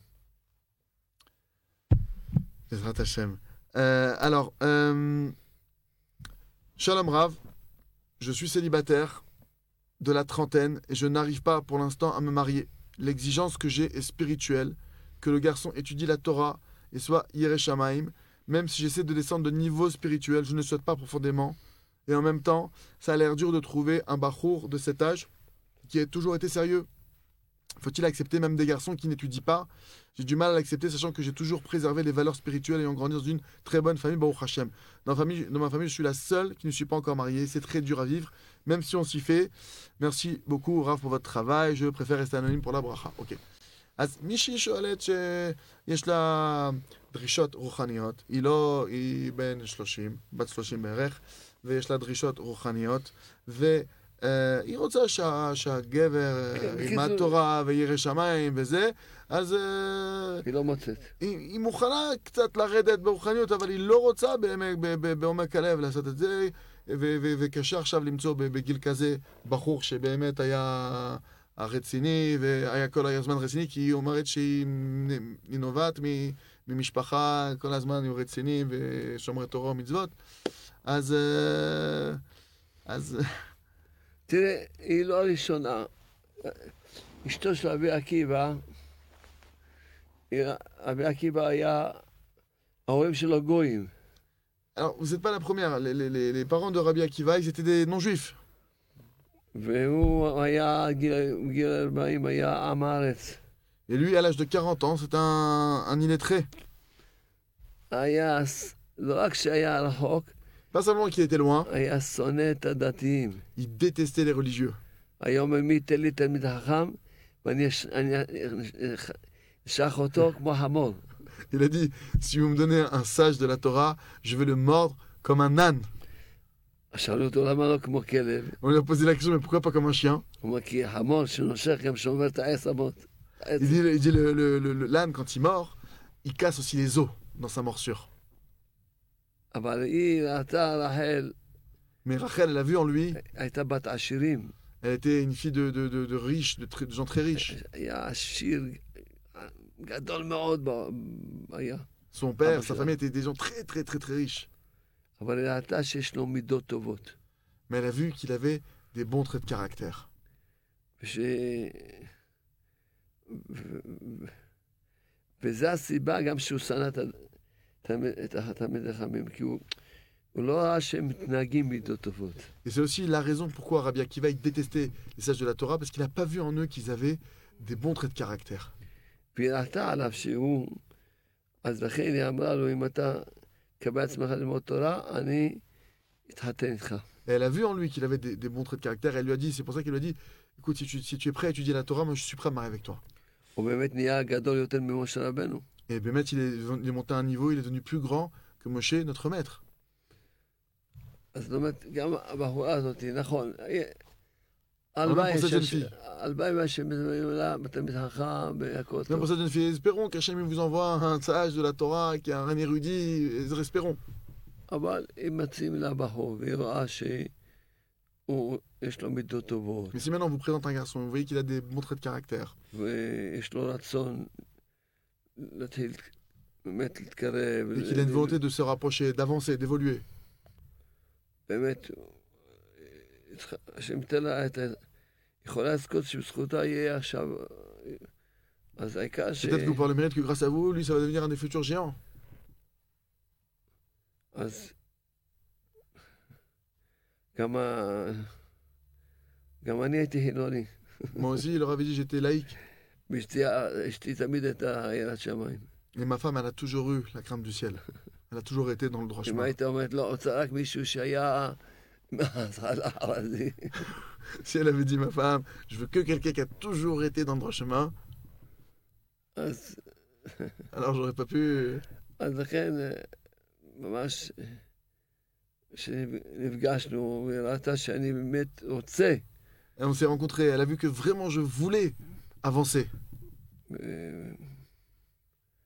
Bezrat Hashem. Euh, alors, euh, Shalom Rav, je suis célibataire de la trentaine et je n'arrive pas pour l'instant à me marier. L'exigence que j'ai est spirituelle, que le garçon étudie la Torah et soit Yireh Shamayim. Même si j'essaie de descendre de niveau spirituel, je ne souhaite pas profondément. Et en même temps, ça a l'air dur de trouver un bachour de cet âge qui a toujours été sérieux. Faut-il accepter même des garçons qui n'étudient pas? J'ai du mal à l'accepter, sachant que j'ai toujours préservé les valeurs spirituelles ayant grandi dans une très bonne famille, Baruch Hashem. Dans, famille, dans ma famille, je suis la seule qui ne suis pas encore mariée. C'est très dur à vivre, même si on s'y fait. Merci beaucoup, Rav, pour votre travail. Je préfère rester anonyme pour la bracha. Ok. אז מישהי שואלת שיש לה דרישות רוחניות, היא לא, היא בן שלושים, בת שלושים בערך, ויש לה דרישות רוחניות, והיא רוצה שה, שהגבר ילמד תורה וירא שמיים וזה, אז היא לא מוצאת. היא, היא מוכנה קצת לרדת ברוחניות, אבל היא לא רוצה באמת בעומק הלב לעשות את זה, ו- ו- וקשה עכשיו למצוא בגיל כזה בחור שבאמת היה הרציני, והיה כל הזמן רציני, כי היא אומרת שהיא נובעת ממשפחה, כל הזמן היו רציניים ושומרי תורה ומצוות. אז... אז... תראה, היא לא הראשונה. אשתו של רבי עקיבא, רבי עקיבא היה, ההורים שלו גויים. Alors, vous n'êtes pas la première. Les, les, les parents de Rabbi Akiva, ils étaient des non-juifs. והוא היה, בגיל ארבעים, היה עם הארץ. Et lui, à l'âge de quarante ans, c'est un, un illettré. היה, לא רק שהיה רחוק, Pas seulement qu'il était loin, היה שונא את הדתיים. il détestait les religieux. היה אומר מי ייתן לי תלמיד חכם, ואני אשך אותו כמו חמור. Il a dit, si vous me donnez un sage de la Torah, je vais le mordre comme un âne. שאלו אותו למה לא כמו כלב? On lui a posé la question, mais pourquoi pas comme un chien? הוא אומר כי חמור שנושך גם שומר את העצמות. Il dit, il dit le, le, le, le- l'âne, quand il mord, il casse aussi les os dans sa morsure. אבל היא ראתה רחל, Mais Rachel, elle a vu en lui, הייתה בת עשירים. elle était une fille de, de, de, de riches, de, très- de gens très riches. היה עשיר גדול מאוד ב- היה. Son père, Ah, sa bah, famille étaient des gens très très très très riches. אבל היא ראתה שיש לו מידות טובות. Mais elle a vu qu'il avait des bons traits de caractère. וש... ו- ו- וזה הסיבה גם שהוא שנא את ה- תלמיד- את התלמיד החכמים, כי הוא, הוא לא ראה שהם מתנהגים מידות טובות. Et c'est aussi la raison pourquoi Rabbi Akiva il détestait les sages de la Torah, parce qu'il n'a pas vu en eux qu'ils avaient des bons traits de caractère. והיא ראתה עליו שהוא, אז לכן היא אמרה לו, אם אתה קבל עצמך ללמוד תורה, אני אתחתן איתך. Et elle a vu en lui qu'il avait des, des bons traits de caractère. Elle lui a dit, c'est pour ça qu'elle lui a dit, écoute, si tu, si tu es prêt à étudier la Torah, moi je suis prêt à me marier avec toi. הוא באמת נהיה גדול יותר ממשה רבנו. Et Bémet, il est, il est monté à un niveau, il est devenu plus grand que Moshe, notre maître. אז זאת אומרת, גם הבחורה הזאת, נכון, pour הלוואי cette jeune ש- fille. הלוואי שמזמנים לה בתלמיד חכם, והכל Même טוב. pour cette jeune fille, espérons qu'Hachem il vous envoie un sage de la Torah, qui est un érudit, et espérons. אבל אם מציעים לה בחור, והיא רואה שיש לו מידות טובות, Mais si maintenant on vous présente un garçon, vous voyez qu'il a des bons traits de caractère, ויש לו רצון להתחיל באמת להתקרב, et qu'il a une volonté de se rapprocher, d'avancer, d'évoluer, באמת, השם ייתן לה את ה... יכולה לזכות שבזכותה יהיה עכשיו... אז העיקר ש... peut-être que vous parlez le mérite que grâce à vous, lui, ça va devenir un des futurs géants. אז גם ה... גם אני הייתי חילוני. Moi aussi, il leur avait dit j'étais laïque. ואשתי אשתי תמיד הייתה יראת שמיים. Et ma femme, elle a toujours eu la crainte du ciel. Elle a toujours été dans le droit אם chemin. היית אומרת, לא, רוצה רק מישהו שהיה... ערבי. Si elle avait dit ma femme, je veux que quelqu'un qui a toujours été dans le droit chemin, אז alors j'aurais pas pu. אז לכן, ממש, כשנפגשנו, וראתה שאני באמת רוצה, Et on s'est rencontrés, elle a vu que vraiment je voulais avancer. ו-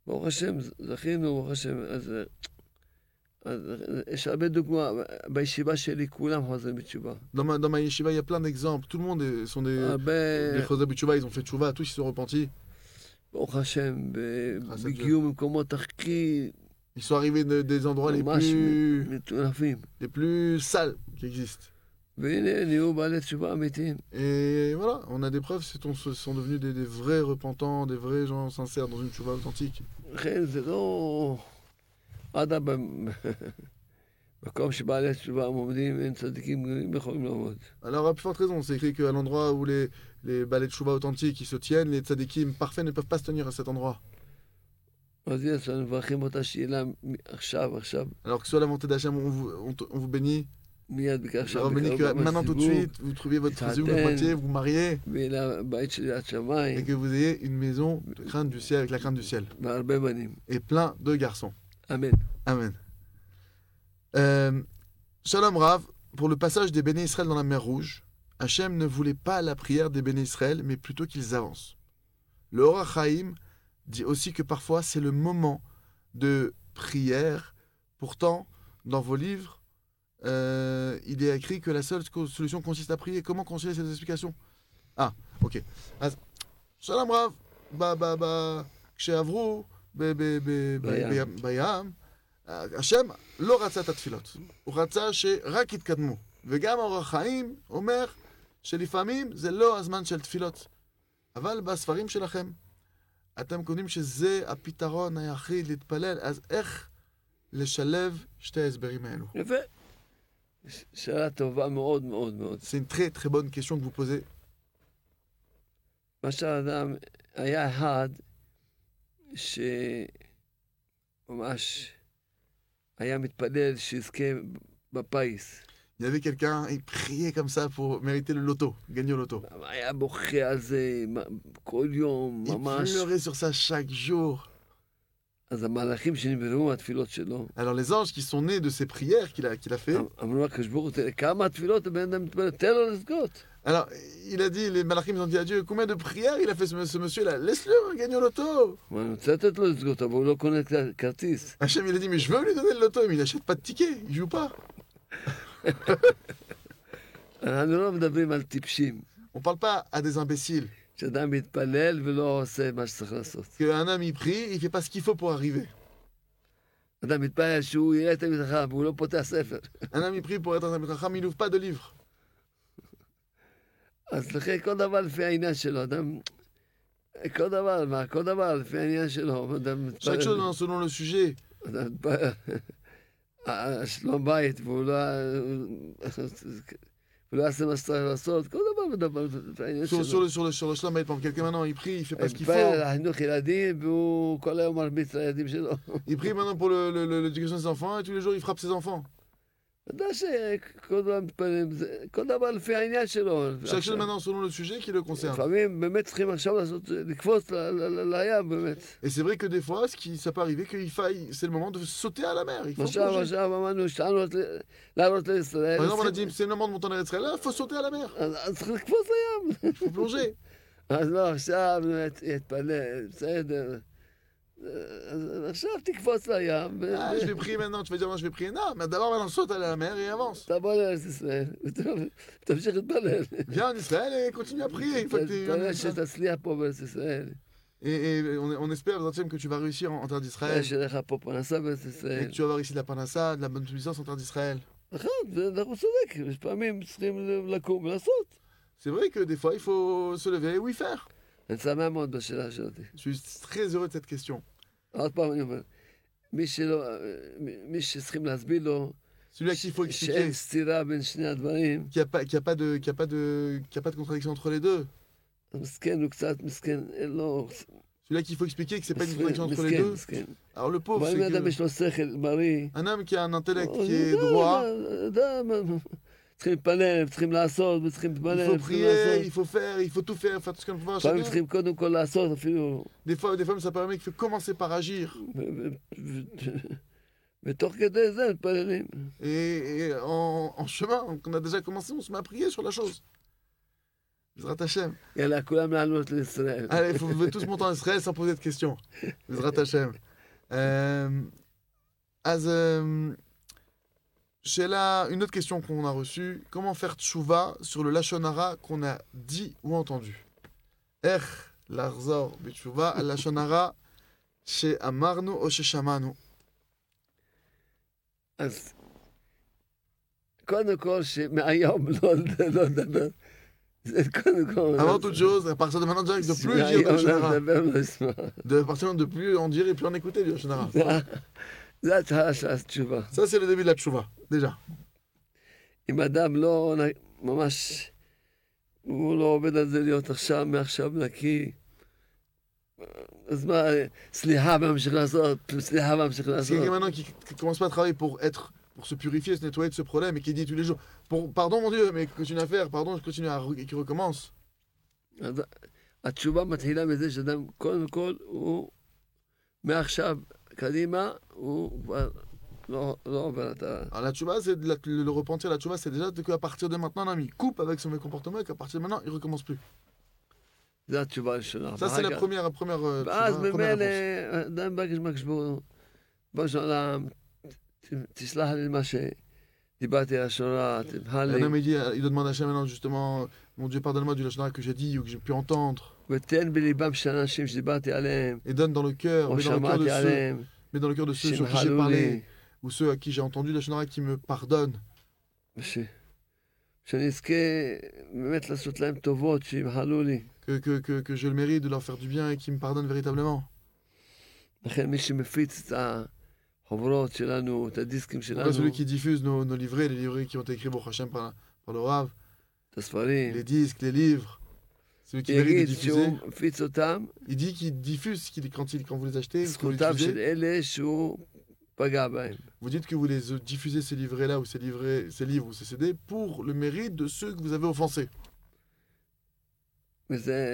ברוך השם, זכינו, ברוך השם. אז, אז יש הרבה דוגמה, בישיבה שלי כולם חוזרים בתשובה. Dans ma, dans ma yeshiva, il y a plein d'exemples. Tout le monde est- sont des, הרבה, des chosé b'tshuva, ils ont fait tchouva, tous ils se sont repentis. ברוך השם, ב- חסד בגיעו ממקומות הכי Ils sont arrivés de- des endroits les ממש plus, מטונפים. les plus sales qui existent. והנה, נהיו בעלי תשובה אמיתיים. Et voilà, on a des preuves, c'est on- ce sont devenus des, des vrais repentants, des vrais gens sincères dans une tchouva authentique. לכן זה לא... אדרבה, מקום שבעלי תשובה עומדים, אין צדיקים גדולים יכולים לעמוד. Alors, à plus forte raison, c'est écrit qu'à l'endroit où les, les balais de chouva authentiques ils se tiennent, les tzadikim parfaits ne peuvent pas se tenir à cet endroit. אז יש לנו מברכים אותה שאלה עכשיו, עכשיו, Alors que soit la volonté d'Hachem, on vous, on, te- on vous bénit, מיד je עכשיו, vous bénit que בקרוב maintenant tout de בסיבוב, suite, vous trouviez votre Taten. zéou de moitié, vous vous mariez, ולבית של יד et שמיים, que vous ayez une maison de crainte du ciel, avec la crainte du ciel, והרבה בנים. et plein de garçons. אמן. Amen. Euh, Shalom Rav, pour le passage des béné Israël dans la mer Rouge, Hachem ne voulait pas la prière des béné Israël, mais plutôt qu'ils avancent. Le Or HaChaim dit aussi que parfois c'est le moment de prière. Pourtant, dans vos livres, euh, il est écrit que la seule co- solution consiste à prier. Comment concilier ces explications? Ah, ok. אז, Shalom Rav, ba ba ba, כשעברו ב- ב- ב- ב- בים. בים, בים, השם לא רצה את התפילות, הוא רצה שרק יתקדמו. וגם האור החיים אומר שלפעמים זה לא הזמן של תפילות. אבל בספרים שלכם, אתם קוראים שזה הפתרון היחיד להתפלל, אז איך לשלב שתי ההסברים האלו? יפה. ש- שאלה טובה מאוד מאוד מאוד. C'est une très très bonne question que vous posez. מה שהאדם, היה אחד שממש היה מתפלל שיזכה בפיס. Il y avait quelqu'un, il priait comme ça pour mériter le loto, gagner au loto. היה בוכה על זה מה- כל יום, Il ממש. pleurait sur ça chaque jour. אז המלאכים שנבראו מהתפילות שלו, Alors les anges qui sont nés de ces prières qu'il a, qu'il a fait, אמרו לקדוש ברוך הוא, תראה, כמה התפילות הבן אדם מתפלל, תן לו לזכות. alors il a dit, les malachim ils ont dit à Dieu, combien de prières il a fait ce, ce monsieur-là? Laisse-le gagner au loto. הוא רוצה לתת לו לזכות, אבל הוא לא קונה כ- כרטיס. Hachem il a dit, mais je veux lui donner le loto, mais il n'achète pas de ticket, il joue pas. אנחנו לא מדברים על טיפשים, On parle pas à des imbéciles. שאדם מתפלל ולא עושה מה שצריך לעשות. Qu'un homme il prie, il fait pas ce qu'il faut pour arriver. אדם מתפלל שהוא יראה את המזרחה והוא לא פותח ספר. Un homme il prie pour être un Chacham, il n'ouvre pas de livre. אז לכן כל דבר לפי העניין שלו, אדם... כל דבר, מה? כל דבר לפי העניין שלו. אדם Chaque chose מתפלל, dans- selon le sujet. אדם מתפלל, אה, שלום בית, והוא לא... הוא לא יעשה מה שצריך לעשות, כל דבר מדבר לפי העניין Sur, sur שלו. le, sur, le, sur le shlam, par quelqu'un maintenant il prie, il fait pas ce qu'il מתפלל על faut. החינוך ילדים, והוא כל היום מרביץ לילדים שלו. Il prie maintenant pour le- le- le- l'éducation des enfants et tous les jours il frappe ses enfants. אתה יודע שכל דבר מתפללים, זה- כל דבר לפי העניין שלו. Chaque chose maintenant selon le sujet qui le concerne. לפעמים באמת צריכים עכשיו לעשות, לקפוץ ל- ל- ל- לים, באמת. Et c'est vrai que des fois, ce qui, ça peut arriver qu'il faille, c'est le moment de sauter à la mer. Il faut עכשיו, plonger. עכשיו אמרנו, שטענו ל- לעלות לישראל. Par exemple, on a צריכים- dit, c'est le moment de monter en Israël, là, il faut sauter à la mer. אז אז צריך לקפוץ לים. Il faut plonger. אז לא, עכשיו באמת יתפלל, בסדר. אז עכשיו תקפוץ לים, Ah, je vais prier maintenant, tu vas dire, non, je vais prier. Non, mais d'abord, maintenant, saute à la mer et avance. תבוא לארץ ישראל, ותמשיך להתפלל. Viens en Israël et continue à prier. Une fois que t'es en תתפלל Israël. שתצליח פה בארץ ישראל. Et, et on, on espère, Zatem, que tu vas réussir en, en terre d'Israël. שיהיה לך פה פרנסה בארץ Et ישראל. que tu vas avoir ici de la panassa, de la bonne puissance en terre d'Israël. נכון, זה- אנחנו צודק, יש פעמים צריכים לקום ולעשות. C'est vrai que des fois, il faut se lever et oui faire. אני שמח מאוד בשאלה שלתי. Je suis très heureux de cette question. עוד פעם אני אומר, מי שלא, מי שצריכים להסביר לו, Celui à qui il faut שאין expliquer סתירה בין שני הדברים, qu'il n'y a, pas- qu'il y a, pas de- qu'il y a, pas de- qu'il y a pas de contradiction entre les deux. אז מסכן, הוא קצת מסכן, אין לו... Celui-là qu'il faut expliquer que c'est pas une מסכן, contradiction entre les מסכן, deux. מסכן. Alors le pauvre, אבל c'est אם אדם que יש לו שכל בריא, un homme qui a un intellect אז qui est הוא droit, יודע, יודע, צריכים להתפלל, צריכים לעשות, וצריכים il להתפלל, faut צריכים prier, il לעשות. faut faire, il faut tout faire, faire tout ce qu'on peut faire לפעמים chacun. צריכים קודם כל לעשות, אפילו... Des fois, des fois, ça permet qu'il faut commencer par agir. ו- ו- ו- ותוך כדי זה מתפללים. Et, et en, en chemin, on a déjà commencé, on se met à prier sur la chose. Bezrat Hashem. יאללה, כולם לעלות לישראל. Allez, vous pouvez tous monter en Israël sans poser de questions. Bezrat Hashem. Euh, אז, euh, שאלה, une autre question qu'on a reçue. Comment faire tchouva sur le lashon hara qu'on a dit ou entendu? איך לחזור בתשובה על לשון הרע שאמרנו או ששמענו? אז קודם כל, שמהיום לא לא לדבר. זה קודם כל... Avant toute chose, à partir de maintenant, direct, de plus dire מהיום du lashon לא hara. לדבר ולא לשמוע. De à partir de plus en dire et plus en écouter du lashon hara. זה- זה התחלה של התשובה. Ça, c'est le début de la tchouva, déjà. אם אדם לא נ- ממש, הוא לא עובד על זה להיות עכשיו, מעכשיו נקי, אז מה, סליחה וממשיך לעשות, סליחה וממשיך C'est לעשות. quelqu'un maintenant qui, qui commence pas à travailler pour être, pour se purifier, se nettoyer de ce problème et qui dit tous les jours, pour, pardon mon Dieu, mais continue à faire, pardon, je continue à, re- et qui recommence. אז התשובה מתחילה מזה שאדם, קודם כל, הוא מעכשיו קדימה, הוא כבר לא לא עובר את ה... Alors la tchouva, c'est de la- le, le repentir, la tchouva, c'est déjà de qu'à partir de maintenant, un homme, il coupe avec son mauvais comportement et qu'à partir de maintenant, il recommence plus. זה התשובה הראשונה. Ça, c'est la ואחר כך- première, la première, euh, ואז tchouva, première ממילא, réponse. אדם מבקש מבקש בו, בוא שלום, ת- תסלח לי מה שדיברתי על השורה, תמחל Un homme, לי, il dit, il doit demander à Hachem maintenant, justement, mon Dieu, pardonne-moi du lachon hara que j'ai dit ou que j'ai pu entendre. ותן בליבם של האנשים שדיברתי עליהם, Et donne dans le cœur, או mais dans le cœur de שמעתי ceux, עליהם, mais dans le cœur de ceux sur qui j'ai שימחלו parlé, לי, ou ceux à qui j'ai entendu lachon hara qui me pardonnent. וש- שאני אזכה באמת לעשות להם טובות, שימחלו לי. Que, que, que, que je le mérite de leur faire du bien et qu'ils me pardonnent véritablement. לכן מי שמפיץ את החוברות שלנו, את הדיסקים Pourquoi שלנו, celui qui diffuse nos, nos livrets, les livrets qui ont été écrits pour Hachem par, par le Rav, את הספרים, les disques, les livres, celui qui mérite de יגיד diffuser, שהוא מפיץ אותם, il dit qu'il diffuse qu'il- quand, il, quand vous les achetez, quand vous les זכותם של diffusez, אלה שהוא פגע בהם. vous dites que vous les euh, diffusez ces livrets-là ou ces, livrets, ces livres ou ces C D pour le mérite de ceux que vous avez offensés. וזה...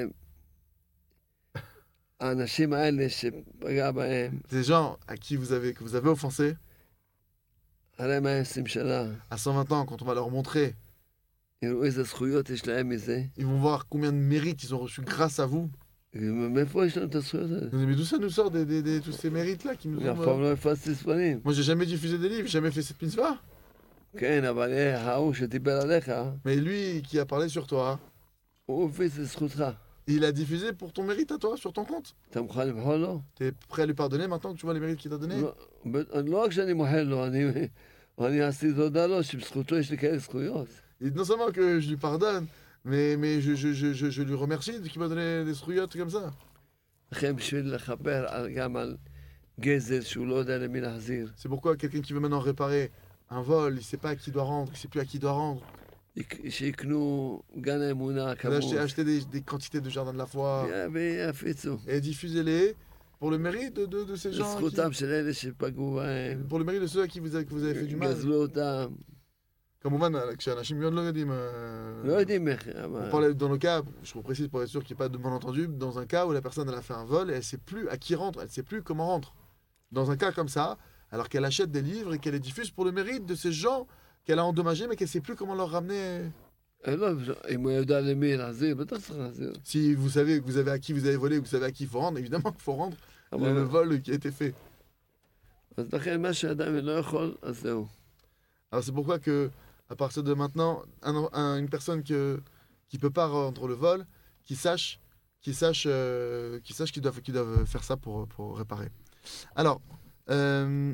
האנשים האלה שפגע בהם, Ces gens à qui vous avez, que vous avez offensés, הרי מה עשרים שנה, à cent vingt ans, quand on va leur montrer, יראו איזה זכויות יש להם מזה, ils vont voir combien de mérites ils ont reçus grâce à vous. מאיפה יש לנו את הזכויות האלה? Mais d'où ça nous sort des, des- des- tous ces mérites-là qui nous אף ont... פעם לא הפצתי ספרים. Moi, j'ai jamais diffusé des livres, j'ai jamais fait cette mitzvah. כן, אבל אה, ההוא שדיבר עליך, Mais lui qui a parlé sur toi, הוא הפיץ את זכותך. il a diffusé pour ton mérite à toi, sur ton compte. אתה מוכן למחול לו? T'es prêt à lui pardonner maintenant que tu vois les mérites qu'il t'a donnés? לא, ב- לא רק שאני מוחל לו, אני, אני עשיתי תודה לו שבזכותו יש לי כאלה זכויות. Et non seulement que je lui pardonne, mais, mais je, je, je, je, je lui remercie de qu'il m'a donné des souillottes comme ça. לכן בשביל לכפר על- גם על גזל שהוא לא יודע למי להחזיר, C'est pourquoi quelqu'un qui veut maintenant réparer un vol, il sait pas à qui il doit rendre, il sait plus à qui il doit rendre. יק- שיקנו גן האמונה Il a acheté, כמות, acheté des, des quantités de jardin de la foi ויפיצו. et diffusez-les pour le mérite de, de, de ces gens. Qui, זכותם של אלה שפגעו בהם, pour le mérite de ceux à qui vous avez, que vous avez fait du mal. גזלו אותם, כמובן, כשאנשים מאוד לא יודעים... euh, לא יודעים איך, On אבל parlait dans le cas, je vous précise pour être sûr qu'il n'y ait pas de malentendu, dans un cas où la personne elle a fait un vol et elle ne sait plus à qui rendre, elle ne sait plus comment rendre. Dans un cas comme ça, alors qu'elle achète des livres et qu'elle les diffuse pour le mérite de ces gens qu'elle a endommagés mais qu'elle ne sait plus comment leur ramener. לא, אם הוא יודע למי להחזיר, בטח צריך להחזיר. Si vous savez que vous avez à qui vous avez volé, vous savez à qui il faut rendre, évidemment qu'il faut rendre le, le אבל vol qui a été fait. אז לכן מה שאדם לא יכול, אז זהו. Alors c'est pourquoi que à partir de maintenant, un- un- une personne que, qui ne peut pas rendre le vol, qui sache qui sache, euh, qui sache qu'ils doivent, qu'ils doivent faire ça pour, pour réparer. Alors, euh,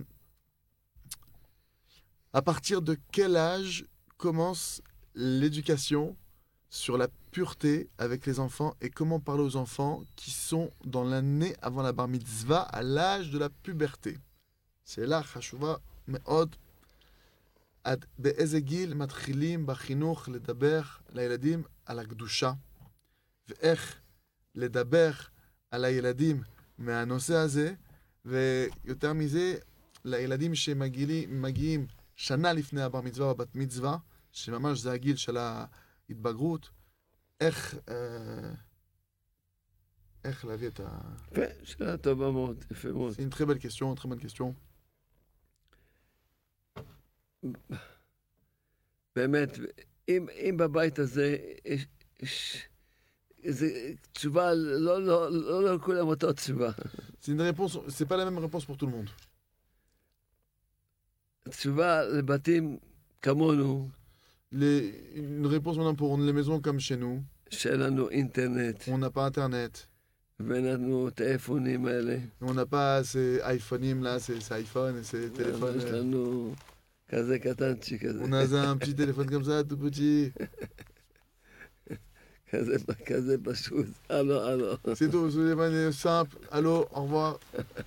à partir de quel âge commence l'éducation sur la pureté avec les enfants et comment parler aux enfants qui sont dans l'année avant la bar mitzvah à l'âge de la puberté? C'est là, חשובה מאוד. עד באיזה גיל מתחילים בחינוך לדבר לילדים על הקדושה ואיך לדבר על הילדים מהנושא הזה, ויותר מזה לילדים שמגיעים שנה לפני הבר מצווה או בת מצווה, שממש זה הגיל של ההתבגרות, איך אה, איך להביא את ה... יפה, שאלה טובה מאוד, יפה מאוד. C'est une très belle question, une très bonne question. באמת, אם, אם בבית הזה יש, יש זה תשובה, לא, לא, לא, לא לכולם אותה תשובה. C'est une réponse, c'est pas la même réponse pour tout le monde. תשובה לבתים כמונו, Les, une réponse maintenant pour les maisons comme chez nous. שאין לנו אינטרנט, On n'a pas internet. ואין לנו את האייפונים האלה. On n'a pas ces iPhones là, ces, ces iPhones et ces téléphones. יש לנו כזה קטנצ'י כזה. On a un petit téléphone comme ça, tout petit. כזה, כזה פשוט. הלו, הלו. C'est tout, ce téléphone est simple. Allô, au revoir.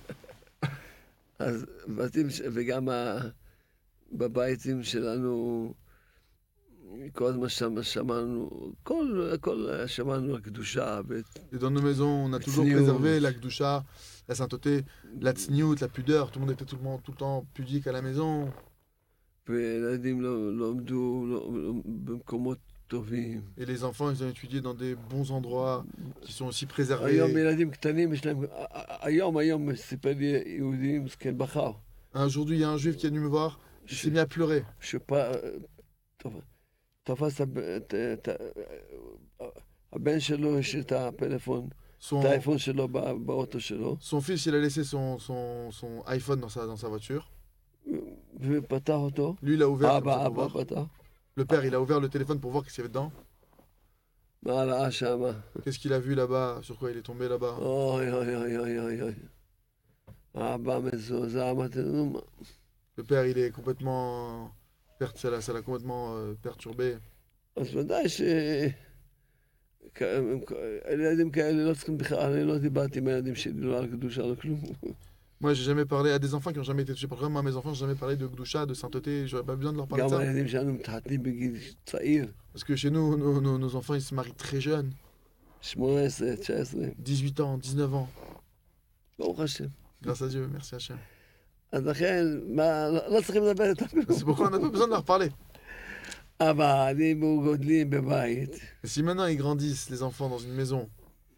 אז בתים, ש- וגם ה- בביתים שלנו, כל הזמן שמ- שמענו, כל, כל שמענו על קדושה, ואת- Et dans nos maisons, on a toujours Tzniut. préservé la Gdusha, la sainteté, la tzniut, la pudeur. Tout le monde était tout le, monde, tout le temps pudique à la maison. וילדים לא לא עמדו לא- לא- במקומות טובים. Et les enfants, ils ont étudié dans des bons endroits qui sont aussi préservés. היום ילדים קטנים, יש להם, היום, היום סיפר לי יהודי מסכן בחר, Aujourd'hui, il y a un juif qui est venu me voir, il s'est mis à pleurer. שפ- טוב, תפס הב- את- את ה- הבן שלו, יש את הפלאפון, Son, את האייפון שלו בא- באוטו שלו, son fils, il a laissé son, son, son iPhone dans sa, dans sa voiture. ופתח אותו, Lui, il a ouvert comme ça אבא, pour אבא voir. פתח, Le père, il a ouvert le téléphone pour voir qu'est-ce qu'il y avait dedans. מה ראה שמה? Qu'est-ce qu'il a vu là-bas, sur quoi il est tombé là-bas. אוי אוי אוי אוי אוי אוי. אבא מזועזע, אמרתי לו, נו מה? Le père, il est complètement... per- Ça l'a ça l'a complètement euh, perturbé. אז ודאי ש... כ- ילדים כאלה לא צריכים בכלל, אני לא דיברתי עם הילדים שלי, לא על קדושה, לא כלום. Moi, j'ai jamais parlé à des enfants qui ont jamais été touchés par le Moi, mes enfants, j'ai jamais parlé de Gdusha, de sainteté. J'aurais pas besoin de leur parler de גם ça. הילדים שלנו מתחתנים בגיל צעיר, Parce que chez nous, nos, nos, nos enfants, ils se marient très jeunes. שמונה עשרה, תשע עשרה, dix-huit ans, dix-neuf ans. ברוך השם. Grâce à Dieu, merci Hachem. אז לכן, מה, לא לא צריכים לדבר איתם כלום. C'est pourquoi on n'a pas besoin de leur parler. אבל אם הוא גודלים בבית, Et si maintenant ils grandissent, les enfants, dans une maison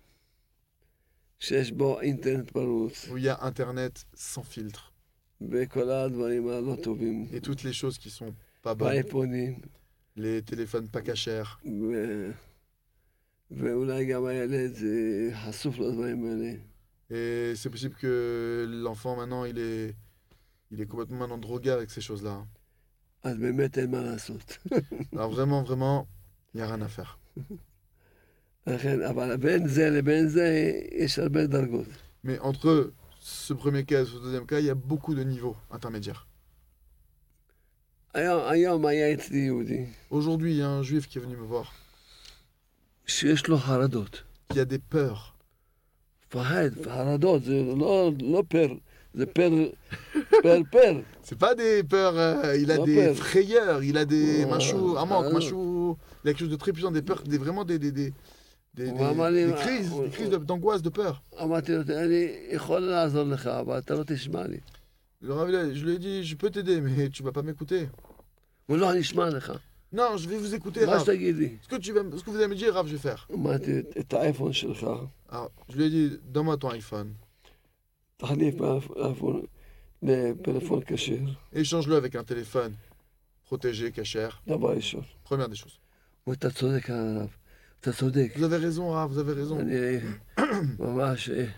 שיש בו אינטרנט פרוץ, où il y a Internet sans filtre, וכל הדברים הלא טובים, et toutes les choses qui sont pas bonnes, באייפונים, les téléphones pas cachers, ו... ואולי גם הילד אה, חשוף לדברים האלה. et c'est possible que l'enfant maintenant il est, il est complètement maintenant drogué avec ces choses-là. אז באמת אין מה לעשות. Alors vraiment, vraiment, il n'y a rien à faire. לכן, אבל בין זה לבין זה יש הרבה דרגות. Mais entre ce premier cas et ce deuxième cas, il y a beaucoup de niveaux intermédiaires. היום, היום היה אצלי יהודי Aujourd'hui, il y a un juif qui est venu me voir, שיש לו חרדות. qui a des peurs. פחד, חרדות, זה לא, לא פר, זה פר, פר פר. C'est pas des peurs, euh, il a Non, des peur. frayeurs, il a des Ouais. machou, un manque, Ah, machou, il a quelque chose de très puissant, des peurs, des, vraiment des, des, des, des, des- Ouais, mais des les- crises, ouais, des crises ouais. de- d'angoisse, de peur. אמרתי לו, אני יכול לעזור לך, אבל אתה לא תשמע לי. Le Rav, il a- je lui ai dit, je peux t'aider, mais tu vas pas m'écouter. הוא לא, אני אשמע לך. Non, je vais vous écouter, מה Rav. שתגיד לי. Ce que, tu vas, ce que vous allez me dire, Rav, je vais faire. אמרתי, את האייפון שלך, Alors, je lui ai dit, donne-moi ton iPhone, תחליף באייפון לפלאפון כשר, échange-le avec un téléphone protégé, cachère. דבר ראשון. Première des choses. ואתה צודק עליו, אתה צודק. Vous avez raison, Rav, vous avez raison. אני ממש... אה,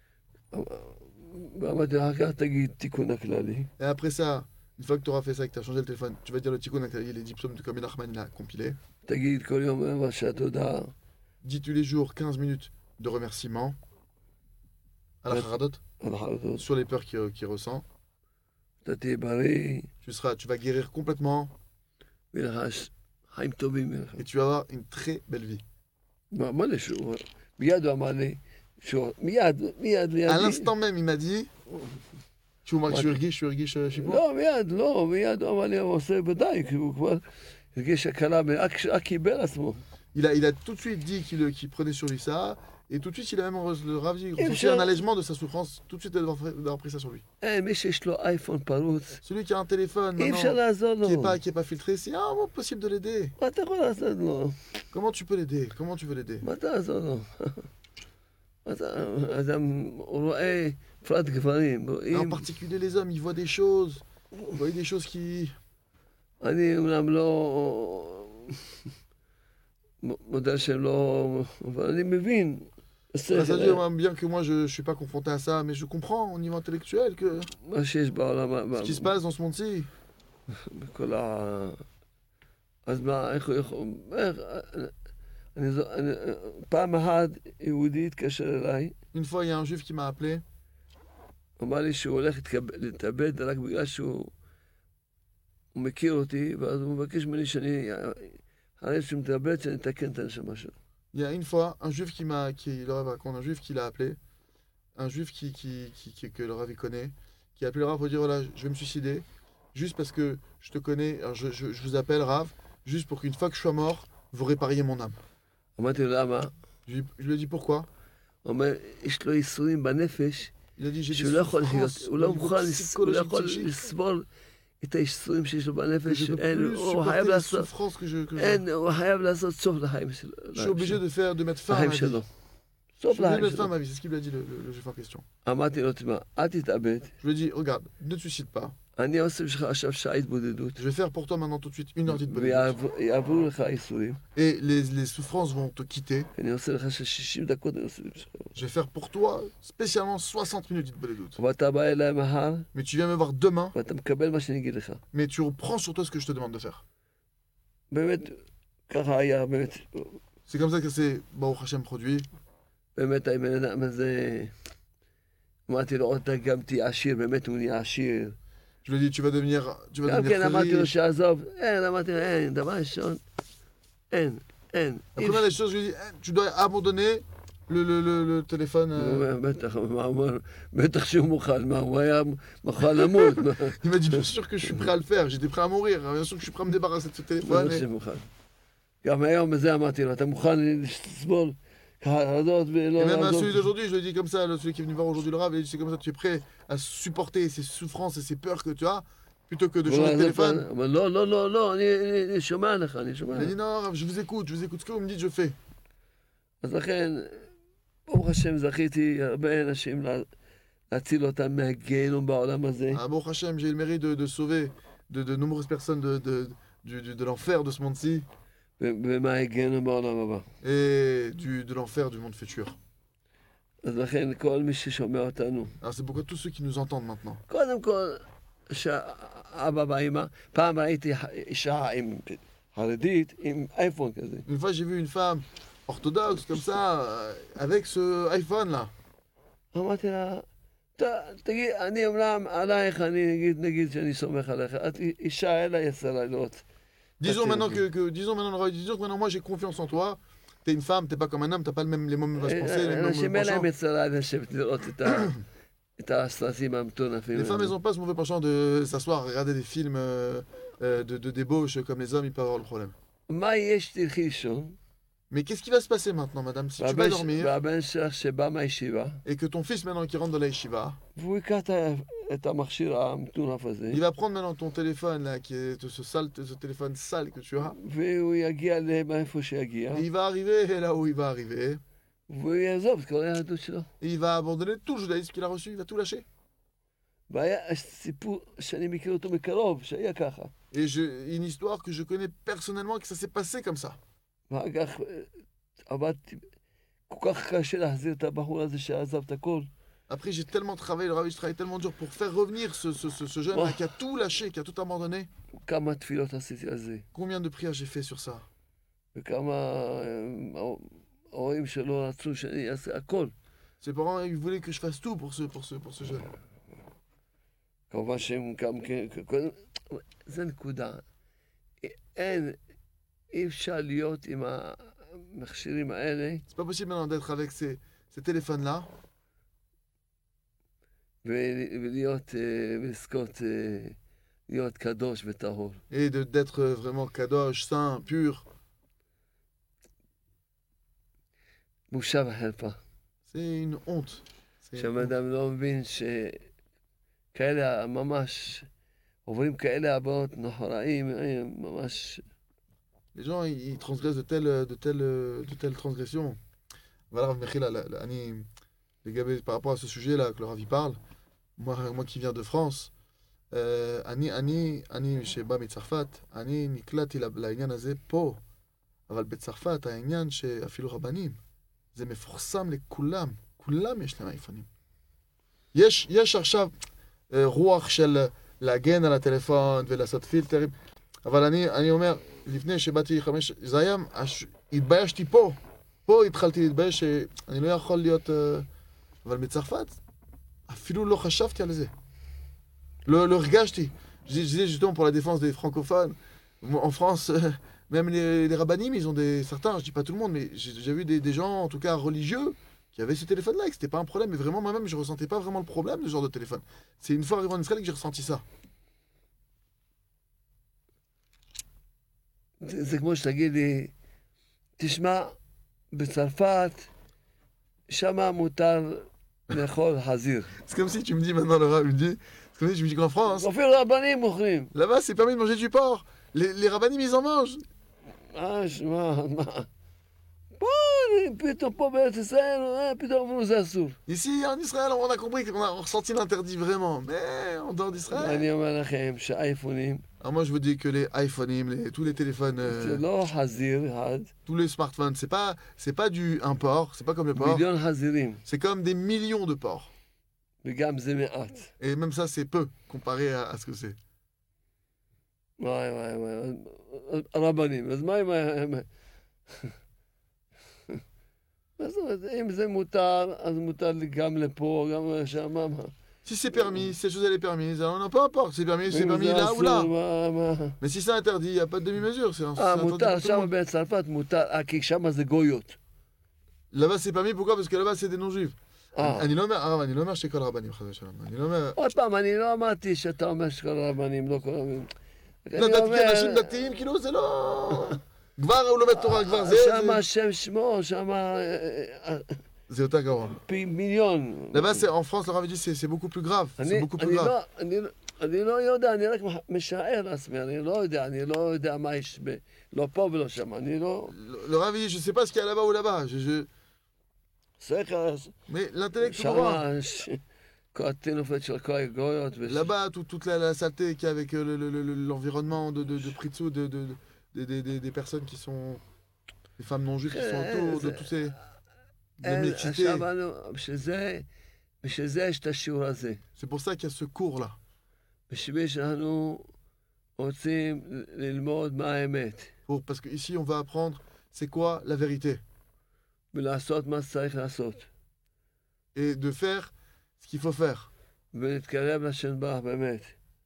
ואמרתי, אחר כך תגיד תיקון הכללי. Et après ça, une fois que tu auras fait ça, que tu as changé le téléphone, tu vas dire le tikkun, les dix psaumes de Komi Nachman, il a compilé. תגיד כל יום רבע שעה תודה. Dis tous les jours quinze minutes de remerciement à la Ouais. Haradot על החרדות. sur les peurs qu'il qu'il ressent. אתה תהיה בריא, Tu, seras, tu vas guérir complètement ויהיה לך ש- חיים טובים ממך. et tu vas avoir une très belle vie. מה מה לי שהוא... מיד הוא אמר לי, שהוא... מיד, מיד לידי. À l'instant même, il m'a dit Tu vois, je suis Urgish, je suis Urgish, je suis bon. לא, מיד, לא, מיד הוא אמר לי, הוא עושה ודאי, כי הוא כבר הרגיש הקלה, רק רק קיבל עצמו. Il a, il a tout de suite dit qu'il qu'il prenait sur lui ça, et tout de suite, il a même re- le Rav dit, ressenti je- un allègement de sa souffrance, tout de suite d'avoir d'avoir pris ça sur lui. אין, מי שיש לו אייפון פרוץ, Celui qui a un téléphone אי אפשר maintenant, לעזור לו. qui n'est pas, qui est pas filtré, c'est impossible de l'aider. מה אתה יכול לעשות לו? Comment tu peux l'aider Comment tu veux l'aider מה תעזור לו? אתה- אז הוא רואה, בפרט גברים, En רואים, particulier les hommes, ils voient des choses, ils voient des choses qui... אני אומנם לא... מ- מודל שהם לא... אבל אני מבין. Bah, ça השכל, veut dire, bien que moi je ne suis pas confronté à ça, mais je comprends au niveau intellectuel que מה שיש בעולם, ce qui se passe dans ce monde-ci. בכל ה... אז מה, איך הוא יכול... איך... אני, זו- אני, פעם אחת יהודי התקשר אליי, Une fois, il y a un juif qui m'a appelé. אמר לי שהוא הולך להתקב- להתאבד רק בגלל שהוא הוא מכיר אותי, ואז הוא מבקש ממני שאני, אחרי שהוא מתאבד, שאני אתקן את הנשמה שלו. Il y a une fois un juif qui m'a, qui le Rav raconte, un juif qui l'a appelé, un juif qui, qui, qui, qui- que le Rav il connaît, qui a appelé le Rav pour dire voilà, je vais me suicider, juste parce que je te connais, alors je, je, je vous appelle Rav, juste pour qu'une fois que je sois mort, vous répariez mon âme. אמרתי לו, למה? Je, lui- je lui ai dit pourquoi. הוא אומר, יש לו ייסורים בנפש, Il a dit j'ai des שהוא לא יכול לחיות, souffrances הוא au לא niveau מוכן, לס- הוא לא psychologique, יכול psychique, לסבול את הייסורים שיש לו que בנפש, je ne peux אין, plus הוא supporter חייב les לעשות, souffrances que je, que je, אין, הוא חייב לעשות סוף לחיים שלו. je suis obligé de faire, de mettre fin à לחיים ma vie. שלו. Je סוף suis obligé de לחיים mettre fin à שלו. ma vie, c'est ce qu'il lui a dit le, le, le juif en question. אמרתי לו, תשמע, אל תתאבד, Je lui ai dit regarde, ne te suicide pas, אני עושה בשבילך עכשיו שעה התבודדות, je vais faire pour toi maintenant tout de suite une heure d'itbodedut. ויעברו לך הייסורים, Et les, les souffrances vont te quitter. אני עושה לך של שישים דקות, אני עושה בשבילך. Je vais faire pour toi spécialement soixante minutes d'itbodedut. ואתה בא אליי מחר, Mais tu viens me voir demain, ואתה מקבל מה שאני אגיד לך. mais tu reprends sur toi ce que je te demande de faire. באמת, ככה היה, באמת, C'est comme ça que c'est Baruch Hashem produit. באמת הבן אדם הזה, אמרתי לו, אתה גם תהיה עשיר, באמת הוא נהיה עשיר. Je lui ai dit tu vas devenir, tu vas גם devenir כן très אמרתי לו riche. שעזוב, אין, אמרתי לו, אין, דבר ראשון, אין, אין. La première des choses, je lui ai dit eh, tu dois abandonner le, le, le, le téléphone. הוא euh. אומר, בטח, מה הוא אומר? בטח שהוא מוכן, מה, הוא היה מוכן למות. מה? Il m'a dit bien sûr que je suis prêt à le faire, j'étais prêt à mourir, bien sûr que je suis prêt à me débarrasser de ce téléphone. בטח Et... שהוא מוכן. גם היום בזה אמרתי לו, אתה מוכן לסבול חרדות ולא Et même à לעזוב? celui d'aujourd'hui, je le dis comme ça, le- celui qui est venu voir aujourd'hui le Rav, il a dit c'est comme ça, tu es prêt à supporter ces souffrances et ces peurs que tu as, plutôt que de הוא changer de אומר, téléphone. הוא אומר, לא, לא, לא, לא, אני- אני אני שומע לך, אני שומע Il a לך. dit non, Rav, je vous écoute, je vous écoute, ce que vous me dites, je fais. אז לכן, ברוך השם, זכיתי הרבה אנשים לה- להציל אותם מהגיהנום בעולם הזה. Ah, bon Hachem, j'ai eu le mérite de, de sauver de, de nombreuses personnes de, de, du- du- de l'enfer de ce monde-ci ו- ומהגיהנום בעולם הבא. et du, de l'enfer du monde futur. אז לכן, כל מי ששומע אותנו, Alors c'est pourquoi tous ceux qui nous entendent maintenant, קודם כל, שאבא ואמא, פעם ראיתי אישה עם חרדית, עם אייפון כזה. une fois j'ai vu une femme orthodoxe comme ça, euh, avec ce iPhone là. אמרתי לה, "ת- תגיד, אני אומנם עלייך, אני נגיד, נגיד שאני סומך עליך, את אישה אלה יצא לילות. Disons Ok, maintenant ok. que, que- disons maintenant, le Rav, disons que maintenant moi j'ai confiance en toi. T'es une femme, t'es pas comme un homme, t'as pas le même, les mêmes pensées, les mêmes אנשים אין penchants. להם יצא לילה לשבת לראות את ה- את הסרטים המטונפים. Les femmes elles ont pas ce mauvais penchant de s'asseoir, regarder des films euh, euh, de, de débauche comme les hommes, ils peuvent avoir le problème. מה יש תלכי לישון? Mais qu'est-ce qui va se passer maintenant, madame, si tu vas והבן ש- dormir והבן שלך שבא מהישיבה, et que ton fils maintenant qui rentre dans la yeshiva, והוא ייקח את ה- את המכשיר המטונף הזה, il va prendre maintenant ton téléphone là, qui est ce, sale, ce téléphone sale que tu as, והוא יגיע לאיפה שיגיע, et il va arriver là où il va arriver, והוא יעזוב את כל היהדות שלו. et il va abandonner tout le judaïsme qu'il a reçu, il va tout lâcher. והיה סיפור שאני מכיר אותו מקרוב, שהיה ככה. Et je, une histoire que je connais personnellement, que ça s'est passé comme ça. ואחר כך אה, עבדתי, כל כך קשה להחזיר את הבחור הזה שעזב את הכל. Après, j'ai tellement travaillé, le Rav, je travaille tellement dur pour faire revenir ce, ce, ce, ce jeune-là Oh. qui a tout lâché, qui a tout abandonné. כמה תפילות עשיתי על זה, Combien de prières j'ai fait sur ça? וכמה אה, ההורים שלו רצו שאני אעשה הכל. Ses parents, ils voulaient que je fasse tout pour ce, pour ce, pour ce jeune. כמובן שהם גם כן, קודם, זה נקודה. אין, אי אפשר להיות עם המכשירים האלה C'est pas possible maintenant d'être avec ces, ces téléphones-là ו- ולהיות, אה, ולזכות אה, להיות קדוש וטהור. et de, d'être vraiment kadosh, saint, pur. בושה וחרפה. C'est une honte. C'est une שהבן honte. אדם לא מבין שכאלה ממש עוברים כאלה הבאות נוראים, אה, ממש... Les gens, ils, ils transgressent de telles, de telles, de telles transgressions. Voilà, Rav Mechila, la- la- Ani, les gars, par rapport à ce sujet-là que le Rav y parle, moi, moi qui viens de France, euh, אני, אני, אני שבא מצרפת, אני נקלעתי ל- לעניין הזה פה, אבל בצרפת העניין שאפילו רבנים, זה מפורסם לכולם, כולם יש להם אייפונים. יש, יש עכשיו אה, רוח של להגן על הטלפון ולעשות פילטרים, אבל אני, אני אומר, לפני שבאתי חמש, זה היה, הש, התביישתי פה, פה התחלתי להתבייש שאני לא יכול להיות, אה, אבל בצרפת אפילו לא חשבתי על זה. לא, לא הרגשתי. Je disais justement pour la défense des francophones, en France, euh, même les, les rabbinim, ils ont des, certains, je dis pas tout le monde, mais j'ai, j'ai vu des, des gens, en tout cas religieux, qui avaient ce téléphone-là, et que c'était pas un problème, mais vraiment moi-même, je ressentais pas vraiment le problème de ce genre de téléphone. C'est une fois arrivé en Israël que j'ai ressenti ça. זה זה כמו שתגיד לי, תשמע, בצרפת, שמה מותר לאכול חזיר. C'est comme si tu me dis maintenant, le rab, il me dit, c'est comme si tu me dis qu'en France, אפילו רבנים מוכרים. là-bas, c'est permis de manger du porc. Les, les rabbinim, ils en mangent. אה, שמע, מה? פה, אני- פתאום פה בארץ ישראל, אה, פתאום אמרו זה אסור. Ici, en Israël, on a compris qu'on a ressenti l'interdit vraiment, mais en dehors d'Israël. אני אומר לכם שהאייפונים, Alors moi, je vous dis que les iPhones, les, tous les téléphones, euh, זה לא חזיר אחד, tous les smartphones, c'est pas, c'est pas du un porc, c'est pas comme le porc, מיליון חזירים, c'est comme des millions de porcs. וגם זה מעט. Et même ça, c'est peu comparé à, à ce que c'est. וואי וואי וואי, הרבנים, אז מה עם ה... מה זאת אומרת, אם זה מותר, אז מותר לי גם לפה, גם לשם, מה? Si c'est permis, si cette chose elle est permise, alors non, peu importe, c'est permis, c'est אם permis זה là ou là. אסור, מה... מה- Mais si c'est interdit, il n'y a pas de demi-mesure. C'est un, c'est אה, interdit מותר, pour tout le שם monde. בצרפת מותר, אה, כי שם זה גויות. Là-bas, c'est permis, pourquoi? Parce que là-bas, c'est des non-juifs. אה, אני לא אומר, הרב, אני לא אומר שכל הרבנים, חס ושלום. אני לא אומר... עוד פעם, אני לא אמרתי שאתה אומר שכל הרבנים, לא כל הרבנים. לא, אני דת- אומר, אנשים דתיים, כאילו, זה לא... כבר הוא לומד תורה, כבר זה... שם זה- השם שמו, שם אה, אה, זה יותר גרוע. פי מיליון. Là-bas, c'est- en France, le Rav dit c'est c'est beaucoup plus grave. C'est אני beaucoup plus אני grave. לא- אני לא- אני לא יודע, אני רק משער לעצמי, אני לא יודע, אני לא יודע מה יש ב... לא פה ולא שם, אני לא... Le, le Rav dit je sais pas ce qu'il y a là-bas ou là-bas. Je, je... שכל, Mais l'intellect, tout le voit. שם ש- כל הטינופת של כל הגויות. וש- Là-bas, tout- toute la, la saleté qu'il y a avec euh, le- le- le- le- l'environnement de, de, de Pritsu, de, de, de- des- des- des personnes qui sont. Des femmes non juives qui sont autour, de tous ces. De אין, mixité. עכשיו, אנו- בשביל זה, בשביל זה יש את השיעור הזה. C'est pour ça qu'il y a ce cours-là. בשביל שאנחנו רוצים ל- ללמוד מה האמת, Pour, parce qu'ici, on va apprendre c'est quoi la vérité. ולעשות מה שצריך לעשות, Et de faire ce qu'il faut faire. ולהתקרב לשם ברך באמת.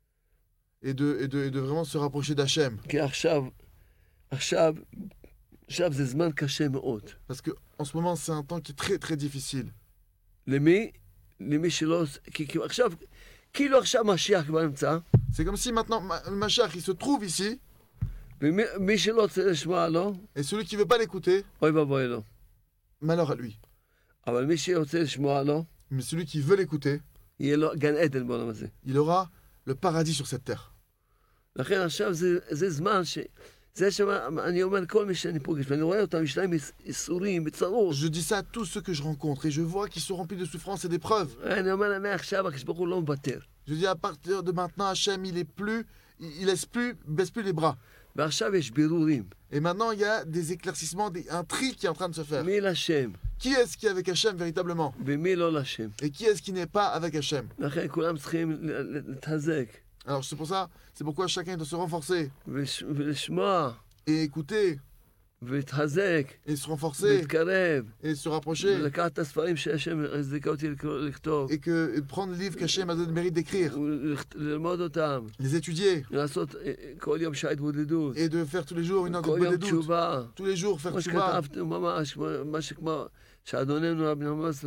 Et de, et de, et de vraiment se rapprocher d'Hachem. כי עכשיו, עכשיו, עכשיו זה זמן קשה מאוד. Parce qu'en ce moment, c'est un temps qui est très très difficile. למי? למי שלא... כי, כי עכשיו, כאילו עכשיו משיח כבר נמצא, C'est comme si maintenant, Ma- Mashiach, il se trouve ici, ומי מי שלא רוצה לשמוע לו, et celui qui veut pas l'écouter, אוי ואבוי לו. malheur à lui. אבל מי שרוצה לשמוע לו, Mais celui qui veut l'écouter, יהיה לו גן עדן בעולם הזה. il aura le paradis sur cette terre. לכן עכשיו זה, זה זמן ש... זה שאני אומר לכל מי שאני פוגש, ואני רואה אותם, יש להם איסורים, בצרות. Je dis ça à tous ceux que je rencontre, et je vois qu'ils sont remplis de souffrances et d'épreuves. אני אומר להם, מעכשיו הקדוש ברוך הוא לא מוותר. Je dis à partir de maintenant, Hachem, il est plus, il, il laisse plus, baisse plus les bras. ועכשיו יש בירורים. Et maintenant, il y a des éclaircissements, des- un tri qui est en train de se faire. מי לשם, Qui est-ce qui est avec Hachem véritablement? ומי לא לשם. Et qui est-ce qui n'est pas avec Hachem? לכן כולם צריכים ל- ל- להתחזק, Alors c'est pour ça, c'est pourquoi chacun doit se renforcer ולש- ולשמוע, et écouter ולהתחזק, et se renforcer ולהתקרב, et se rapprocher ולקחת את הספרים שהשם הזיקה אותי לקרוא- לכתוב, et que et de prendre le livre qu'Hachem a donné le mérite d'écrire, וללמוד אותם, les étudier לעשות אה, כל יום שעה התבודדות, et de faire tous les jours une heure כל de יום doute, תשובה. tous les jours faire כמו tchouva, שכתבתם ממש, כמו- מה שכמו שאדוננו רבי עמוס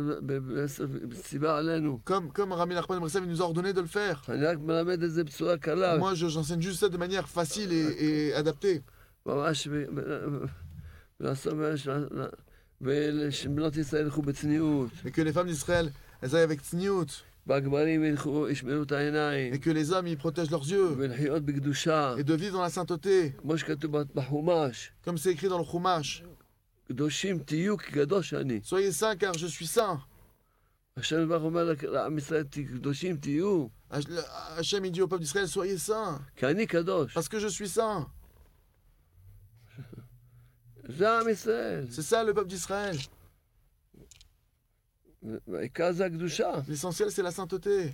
ציווה עלינו. comme comme Rami Nachman Bressev il nous a ordonné de le faire. אני רק מלמד את זה בצורה קלה, Moi je- j'enseigne juste ça de manière facile et, et adaptée. ממש, ב- ב- לעשות, ושבנות ישראל ילכו בצניעות, Et que les femmes d'Israël elles aillent avec tzniut והגברים ילכו, ישמרו את העיניים, et que les hommes ils protègent leurs yeux ולחיות בקדושה, et de vivre dans la sainteté כמו שכתוב בחומש, comme c'est écrit dans le Chumash. קדושים תהיו כקדוש אני. Soyez saints car je suis saint. השם יתברך אומר לעם ישראל, קדושים תהיו, Hachem il dit au peuple d'Israël soyez saints כי אני קדוש. parce que je suis saint. זה עם ישראל. C'est ça le peuple d'Israël. והעיקר זה הקדושה. L'essentiel, c'est la sainteté.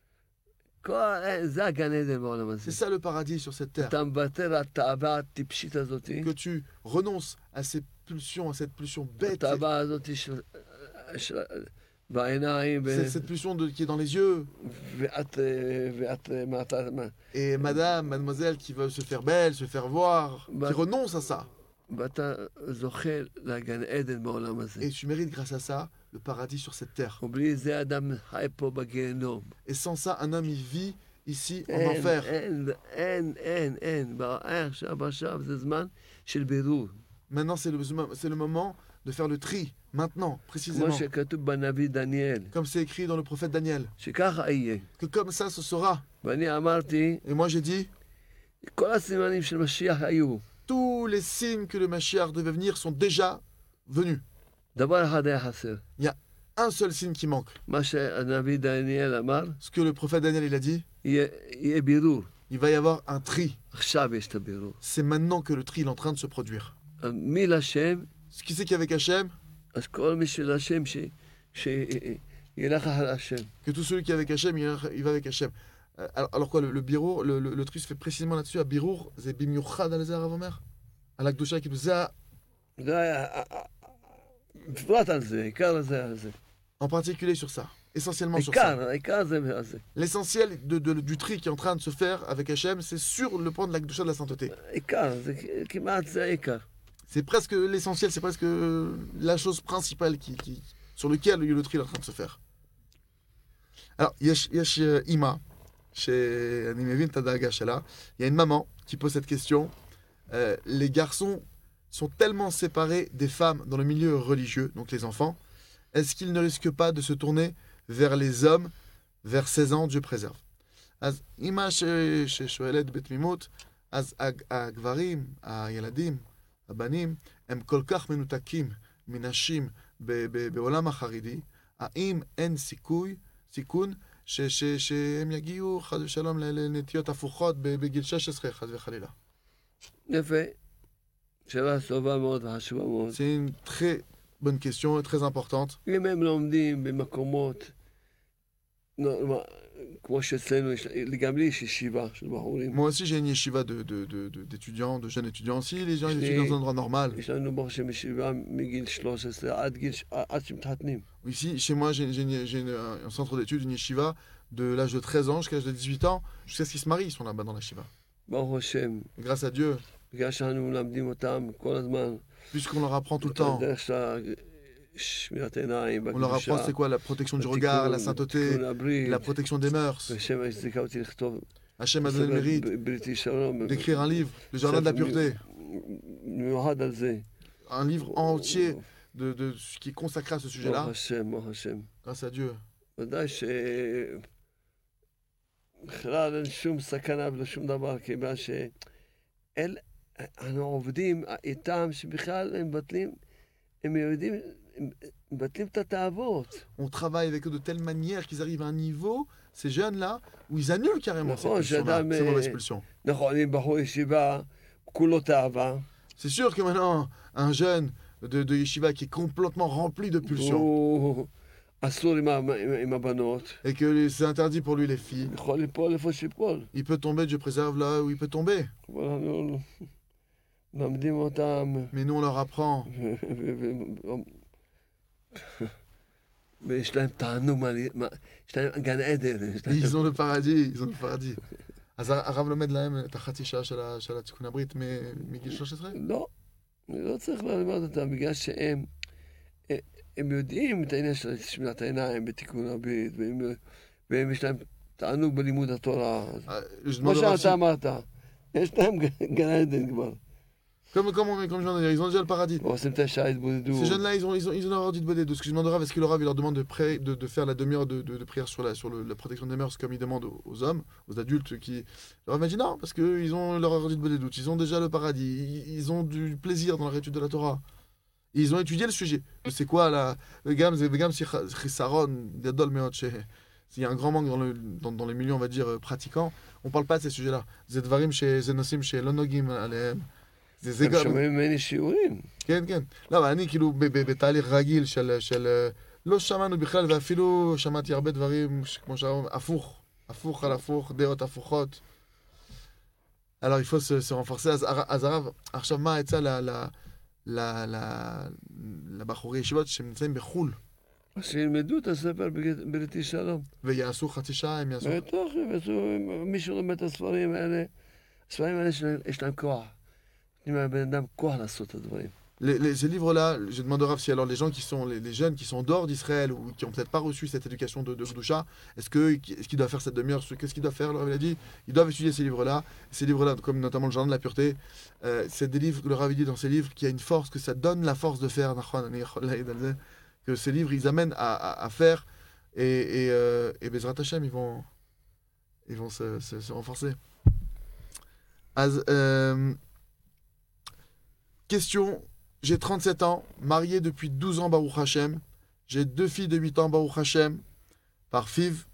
כל- זה הגן עדן בעולם הזה. C'est ça le paradis sur cette terre. אתה מוותר על התאווה הטיפשית הזאת, Que tu renonces à ces pulsions, à cette pulsion bête, התאווה הזאת של... של... בעיניים, ו... c'est cette pulsion de, qui est dans les yeux. ואת... ואת... מה אתה... מה... Et madame, mademoiselle qui veut se faire belle, se faire voir, Bah- qui renonce à ça. ואתה זוכה לגן עדן בעולם הזה. Et tu mérites grâce à ça le paradis sur cette terre. ובלי זה אדם חי פה בגיהנום. Et sans ça, un homme, il vit ici en אין, enfer. אין, אין, אין, אין. עכשיו, עכשיו, זה זמן של בירור. Maintenant, c'est le, c'est le moment de faire le tri, maintenant, כמו précisément. שכתוב בנביא דניאל, Comme c'est écrit dans le prophète Daniel. שככה יהיה. Que comme ça, ce sera. ואני אמרתי, Et moi, j'ai dit, כל הסימנים של משיח היו. tous les signes que le Mashiach devait venir sont déjà venus. דבר אחד היה חסר. Un seul signe qui manque. מה שהנביא דניאל אמר, Ce que le prophète Daniel, il a dit, יהיה, יהיה בירור. il va y avoir un tri. עכשיו יש את הבירור. C'est maintenant que le tri il est en train de se produire. מי לשם, Ce qui c'est qu'avec Hachem, אז כל מי שלשם, ש- שילך אחר השם. que tout celui qui est avec Hachem, il, il va avec Hachem. Euh, Alors, alors quoi, le, le birour, le, le, le tri se fait précisément là-dessus, à birour, c'est bimiouchad al Rav Omer. À l'Akdosha qui nous a, זה היה, בפרט על זה, עיקר זה על זה. en particulier sur ça, essentiellement sur ça. העיקר, העיקר זה על זה. L'essentiel de, de- du tri qui est en train de se faire avec Hachem, c'est sur le point de l'Akdosha de la sainteté. העיקר, זה כמעט זה העיקר. C'est presque l'essentiel, c'est presque la chose principale qui, qui, sur laquelle le tri est en train de se faire. Alors, yesh, yesh euh, Ima, chez Animevin Tadaga Shala, il y a une maman qui pose cette question. Euh, les garçons sont tellement séparés des femmes dans le milieu religieux, donc les enfants, est-ce qu'ils ne risquent pas de se tourner vers les hommes vers seize ans, Dieu préserve. אז אימא ש- ששואלת בתמימות, אז הג- הגברים, הילדים, הבנים, הם כל כך מנותקים מנשים ב- ב- בעולם החרדי, האם אין סיכוי, סיכון, ש- ש- שהם יגיעו חס ושלום ל- לנטיות הפוכות ב- בגיל שש עשרה, חס וחלילה? יפה. שאלה טובה מאוד וחשובה מאוד. C'est une très bonne question et très importante. אם הם לומדים במקומות, נו, מה, כמו שאצלנו, יש- גם לי יש ישיבה של בחורים. Moi aussi, j'ai une yeshiva de, de, de, de- d'étudiants, de jeunes étudiants aussi. Les gens ils Je étudient l'ai- dans un endroit normal. יש לנו ברוך השם ישיבה מגיל שלוש עשרה עד גיל, ש- עד שמתחתנים. Ici, chez moi, j'ai, j'ai une- j'ai une- un centre d'études, une yeshiva, de l'âge de treize ans jusqu'à l'âge de dix-huit ans, jusqu'à ce qu'ils se marient, ils sont là-bas dans la yeshiva. ברוך השם, Et grâce à Dieu, בגלל שאנו מלמדים אותם כל הזמן, puisqu'on leur apprend tout le temps, דרך של שמירת העיניים, on leur apprend c'est quoi la protection du regard, la sainteté, תיקון הברית, la protection des mœurs. ושם הזיקה אותי לכתוב Hachem a donné le mérite בריתי שלום, d'écrire un livre, le jardin de la pureté, מיוחד על זה. un livre entier de, de ce qui est consacré à ce ברוך sujet-là, השם, ברוך השם. grâce à Dieu. ודאי ש... בכלל אין שום סכנה ולא שום דבר, כיוון שאל... אנחנו עובדים איתם שבכלל הם מבטלים, הם יודעים, הם מבטלים את התאוות. On travaille avec eux de telle manière qu'ils arrivent à un niveau, ces jeunes-là, où ils annulent carrément ces נכון, pulsions-là, שאדם... ces mauvaises pulsions. נכון, אם בחור ישיבה, כולו תאווה. C'est sûr que maintenant, un jeune de, de yeshiva qui est complètement rempli de pulsions, הוא אסור עם, ה- עם, עם הבנות. et que c'est interdit pour lui les filles, יכול ליפול איפה שיפול. il peut tomber, Dieu préserve là où il peut tomber. אבל אנחנו מלמדים אותם. Mais nous, on leur apprend. ו- ו- ו- ויש להם תענוג, מה- מה- יש להם גן עדן. יש להם- Ils ont le paradis, ils ont le paradis. אז הרב לומד להם את החצי שעה של ה- של התיקון הברית מ- מגיל שלוש עשרה? לא, אני לא צריך ללמד אותם, בגלל שהם הם יודעים את העניין של שמירת העיניים בתיקון הברית, והם, והם יש להם תענוג בלימוד התורה. Ah, je כמו demande au Rav שאתה si- אמרת, יש להם גן עדן כבר. Comme, comme, on- comme je viens de dire, ils ont déjà le paradis. עושים את השעה התבודדות. Ces jeunes-là, ils ont, ils ont, ils ont leur ordre de bonnet. De ce que je demande au Rav, est-ce que le Rav, il leur demande de, pré- de, de faire la demi-heure de, de, de prière sur, la, sur le- la protection des mœurs, comme il demande aux, aux hommes, aux adultes qui. Le Rav m'a dit non, parce qu'ils ont leur ordre de bonnet doute. Ils ont déjà le paradis. Ils, ils ont du plaisir dans la étude de la Torah. Et ils ont étudié le sujet. C'est quoi la. Le gam, c'est le gam, c'est chisaron, gadol meot, chez- S'il y a un grand manque dans, le, dans, dans les milieux, on va dire, euh, pratiquants, on parle pas de ces sujets-là. Zedvarim chez Zenosim, chez Lonogim, alehem. זה, זה הם גם... שומעים ממני שיעורים. כן, כן. לא, אבל אני כאילו ב- ב- בתהליך רגיל של, של... אה, לא שמענו בכלל, ואפילו שמעתי הרבה דברים, ש- כמו שאומרים, הפוך. הפוך על הפוך, דעות הפוכות. Alors, il faut se, se renforcer. אז, אז הרב, עכשיו מה העצה ל- ל- ל- ל- לבחורי ישיבות שנמצאים בחו"ל, אז שילמדו את הספר בגט- בריתי שלום. ויעשו חצי שעה, הם יעשו... בטח, יעשו, מישהו לומד את הספרים האלה, הספרים האלה יש להם- יש להם כוח. נותנים לבן אדם כוח לעשות את הדברים. Les, les- ces livres-là, je demande au Rav si alors les gens qui sont, les, les jeunes qui sont dehors d'Israël ou qui n'ont peut-être pas reçu cette éducation de, de Gdoucha, est-ce que, est-ce qu'ils doivent faire cette demi-heure? Qu'est-ce qu'ils doivent faire? Le Rav il a dit, ils doivent étudier ces livres-là. Ces livres-là, comme notamment le Jardin de la Pureté, euh, c'est des livres que le Rav il dit dans ces livres qu'il y a une force, que ça donne la force de faire, que ces livres ils amènent à, à, à faire et, et, euh, et Bezrat Hashem ils vont, ils vont se, se, se renforcer. Az, euh, question. J'ai trente-sept ans, marié depuis douze ans, Baruch Hashem. J'ai deux filles de huit ans, Baruch Hashem, par Fiv,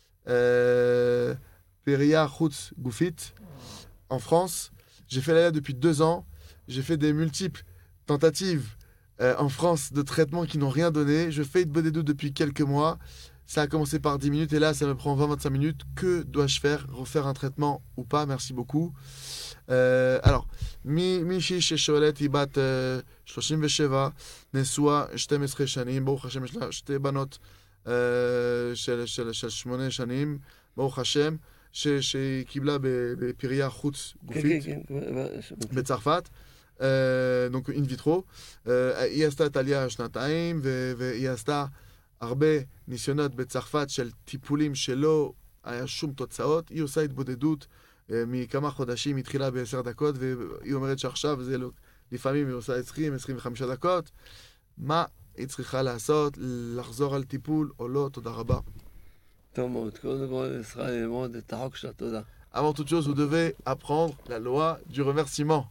euh, Peria Chutz Goufit, en France. J'ai fait l'Aliyah depuis deux ans. J'ai fait des multiples tentatives euh, en France de traitements qui n'ont rien donné. Je fais une bonne édoute depuis quelques mois. Ça a commencé par dix minutes et là, ça me prend vingt à vingt-cinq minutes. Que dois-je faire? Refaire un traitement ou pas? Merci beaucoup. Euh, alors, מישהי ששואלת היא בת אה, שלושים ושבע, נשואה שתים עשרה שנים, ברוך השם יש לה שתי בנות אה, של, של, של שמונה שנים, ברוך השם, ש, שהיא קיבלה בפריה חוץ גופית כן, כן, כן. בצרפת, אה, donc in vitro. אה, היא עשתה את העלייה שנתיים, ו- והיא עשתה הרבה ניסיונות בצרפת של טיפולים שלא היה שום תוצאות. היא עושה התבודדות מכמה חודשים, התחילה בעשר דקות, והיא אומרת שעכשיו זה לא, לפעמים היא עושה עשרים עשרים וחמש דקות. מה היא צריכה לעשות? לחזור על טיפול או לא? תודה רבה. טוב מאוד, קודם כל צריכה ללמוד את החוק של התודה. Avant toute chose, vous devez apprendre la loi du remerciement.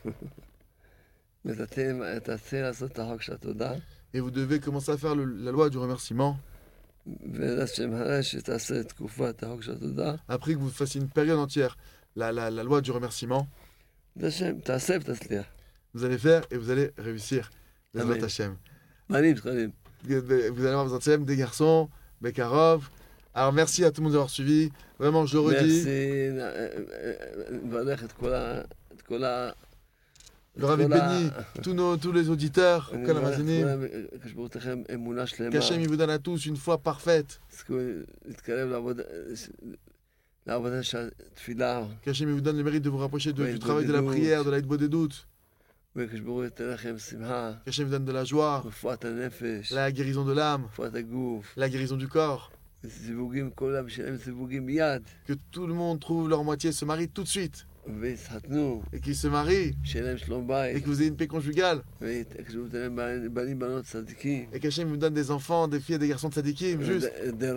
ותתחיל לעשות את החוק של התודה. Et vous devez commencer à faire le, la loi du remerciement. ולשם שתעשה תקופת החוק של התודה. Après que vous fassiez une période entière, la, la, la loi du remerciement, לשם, תעשה ותצליח. vous allez faire et vous allez réussir. Amen. Bezrat Hashem. בנים, זכרים. Vous allez avoir Bezrat Hashem, des garçons, Bekarov. Alors merci à tout le monde d'avoir suivi. Vraiment, je le redis. merci, נברך את כל ה... את כל ה... Le Rav bénit tous, nos, tous les auditeurs, Kol Hamazinim. כשברותכם אמונה שלמה. Qu'Hachem il vous donne à tous une foi parfaite. תזכו להתקרב לעבוד... לעבודה של תפילה. Qu'Hachem il vous donne le mérite de vous rapprocher de- Ouais, du travail de la prière, de la doute. וכשברוך ייתן לכם שמחה. Qu'Hachem vous donne de la joie, רפואת הנפש. la guérison de l'âme, רפואת הגוף. la guérison du corps. זיווגים, כולם שלהם זיווגים מיד. Que tout le monde trouve leur moitié, se marie tout de suite. ויתחתנו. Et qu'ils se marient. שיהיה להם שלום Et בית. que vous ayez une paix conjugale. וכשהוא ייתן להם בנים בנות צדיקים. Et qu'Hachem vous donne des enfants, des filles et des garçons de tzadikim, juste.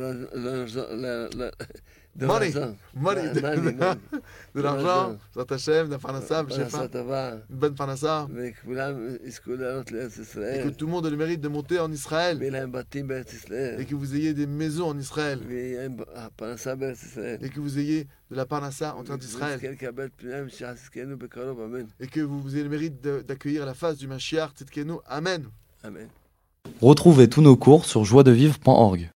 Money. Money. De l'argent, Bezrat Hashem, d'un parnassa, פרנסה טובה. une bonne parnassa. וכולם יזכו לעלות לארץ Et ישראל. que tout le monde ait le mérite de monter en Israël. ויהיה להם בתים בארץ ישראל. Et que vous ayez des maisons en Israël. ויהיה להם פרנסה בארץ ישראל. Et que vous ayez de la parnassa en terre d'Israël. ונזכה לקבל פנייה משחזקנו בקרוב, אמן. Et que vous ayez le mérite de- d'accueillir la face du Mashiach, Tzidkenu. Amen. אמן. Retrouvez tous nos cours sur joie de vivre point org.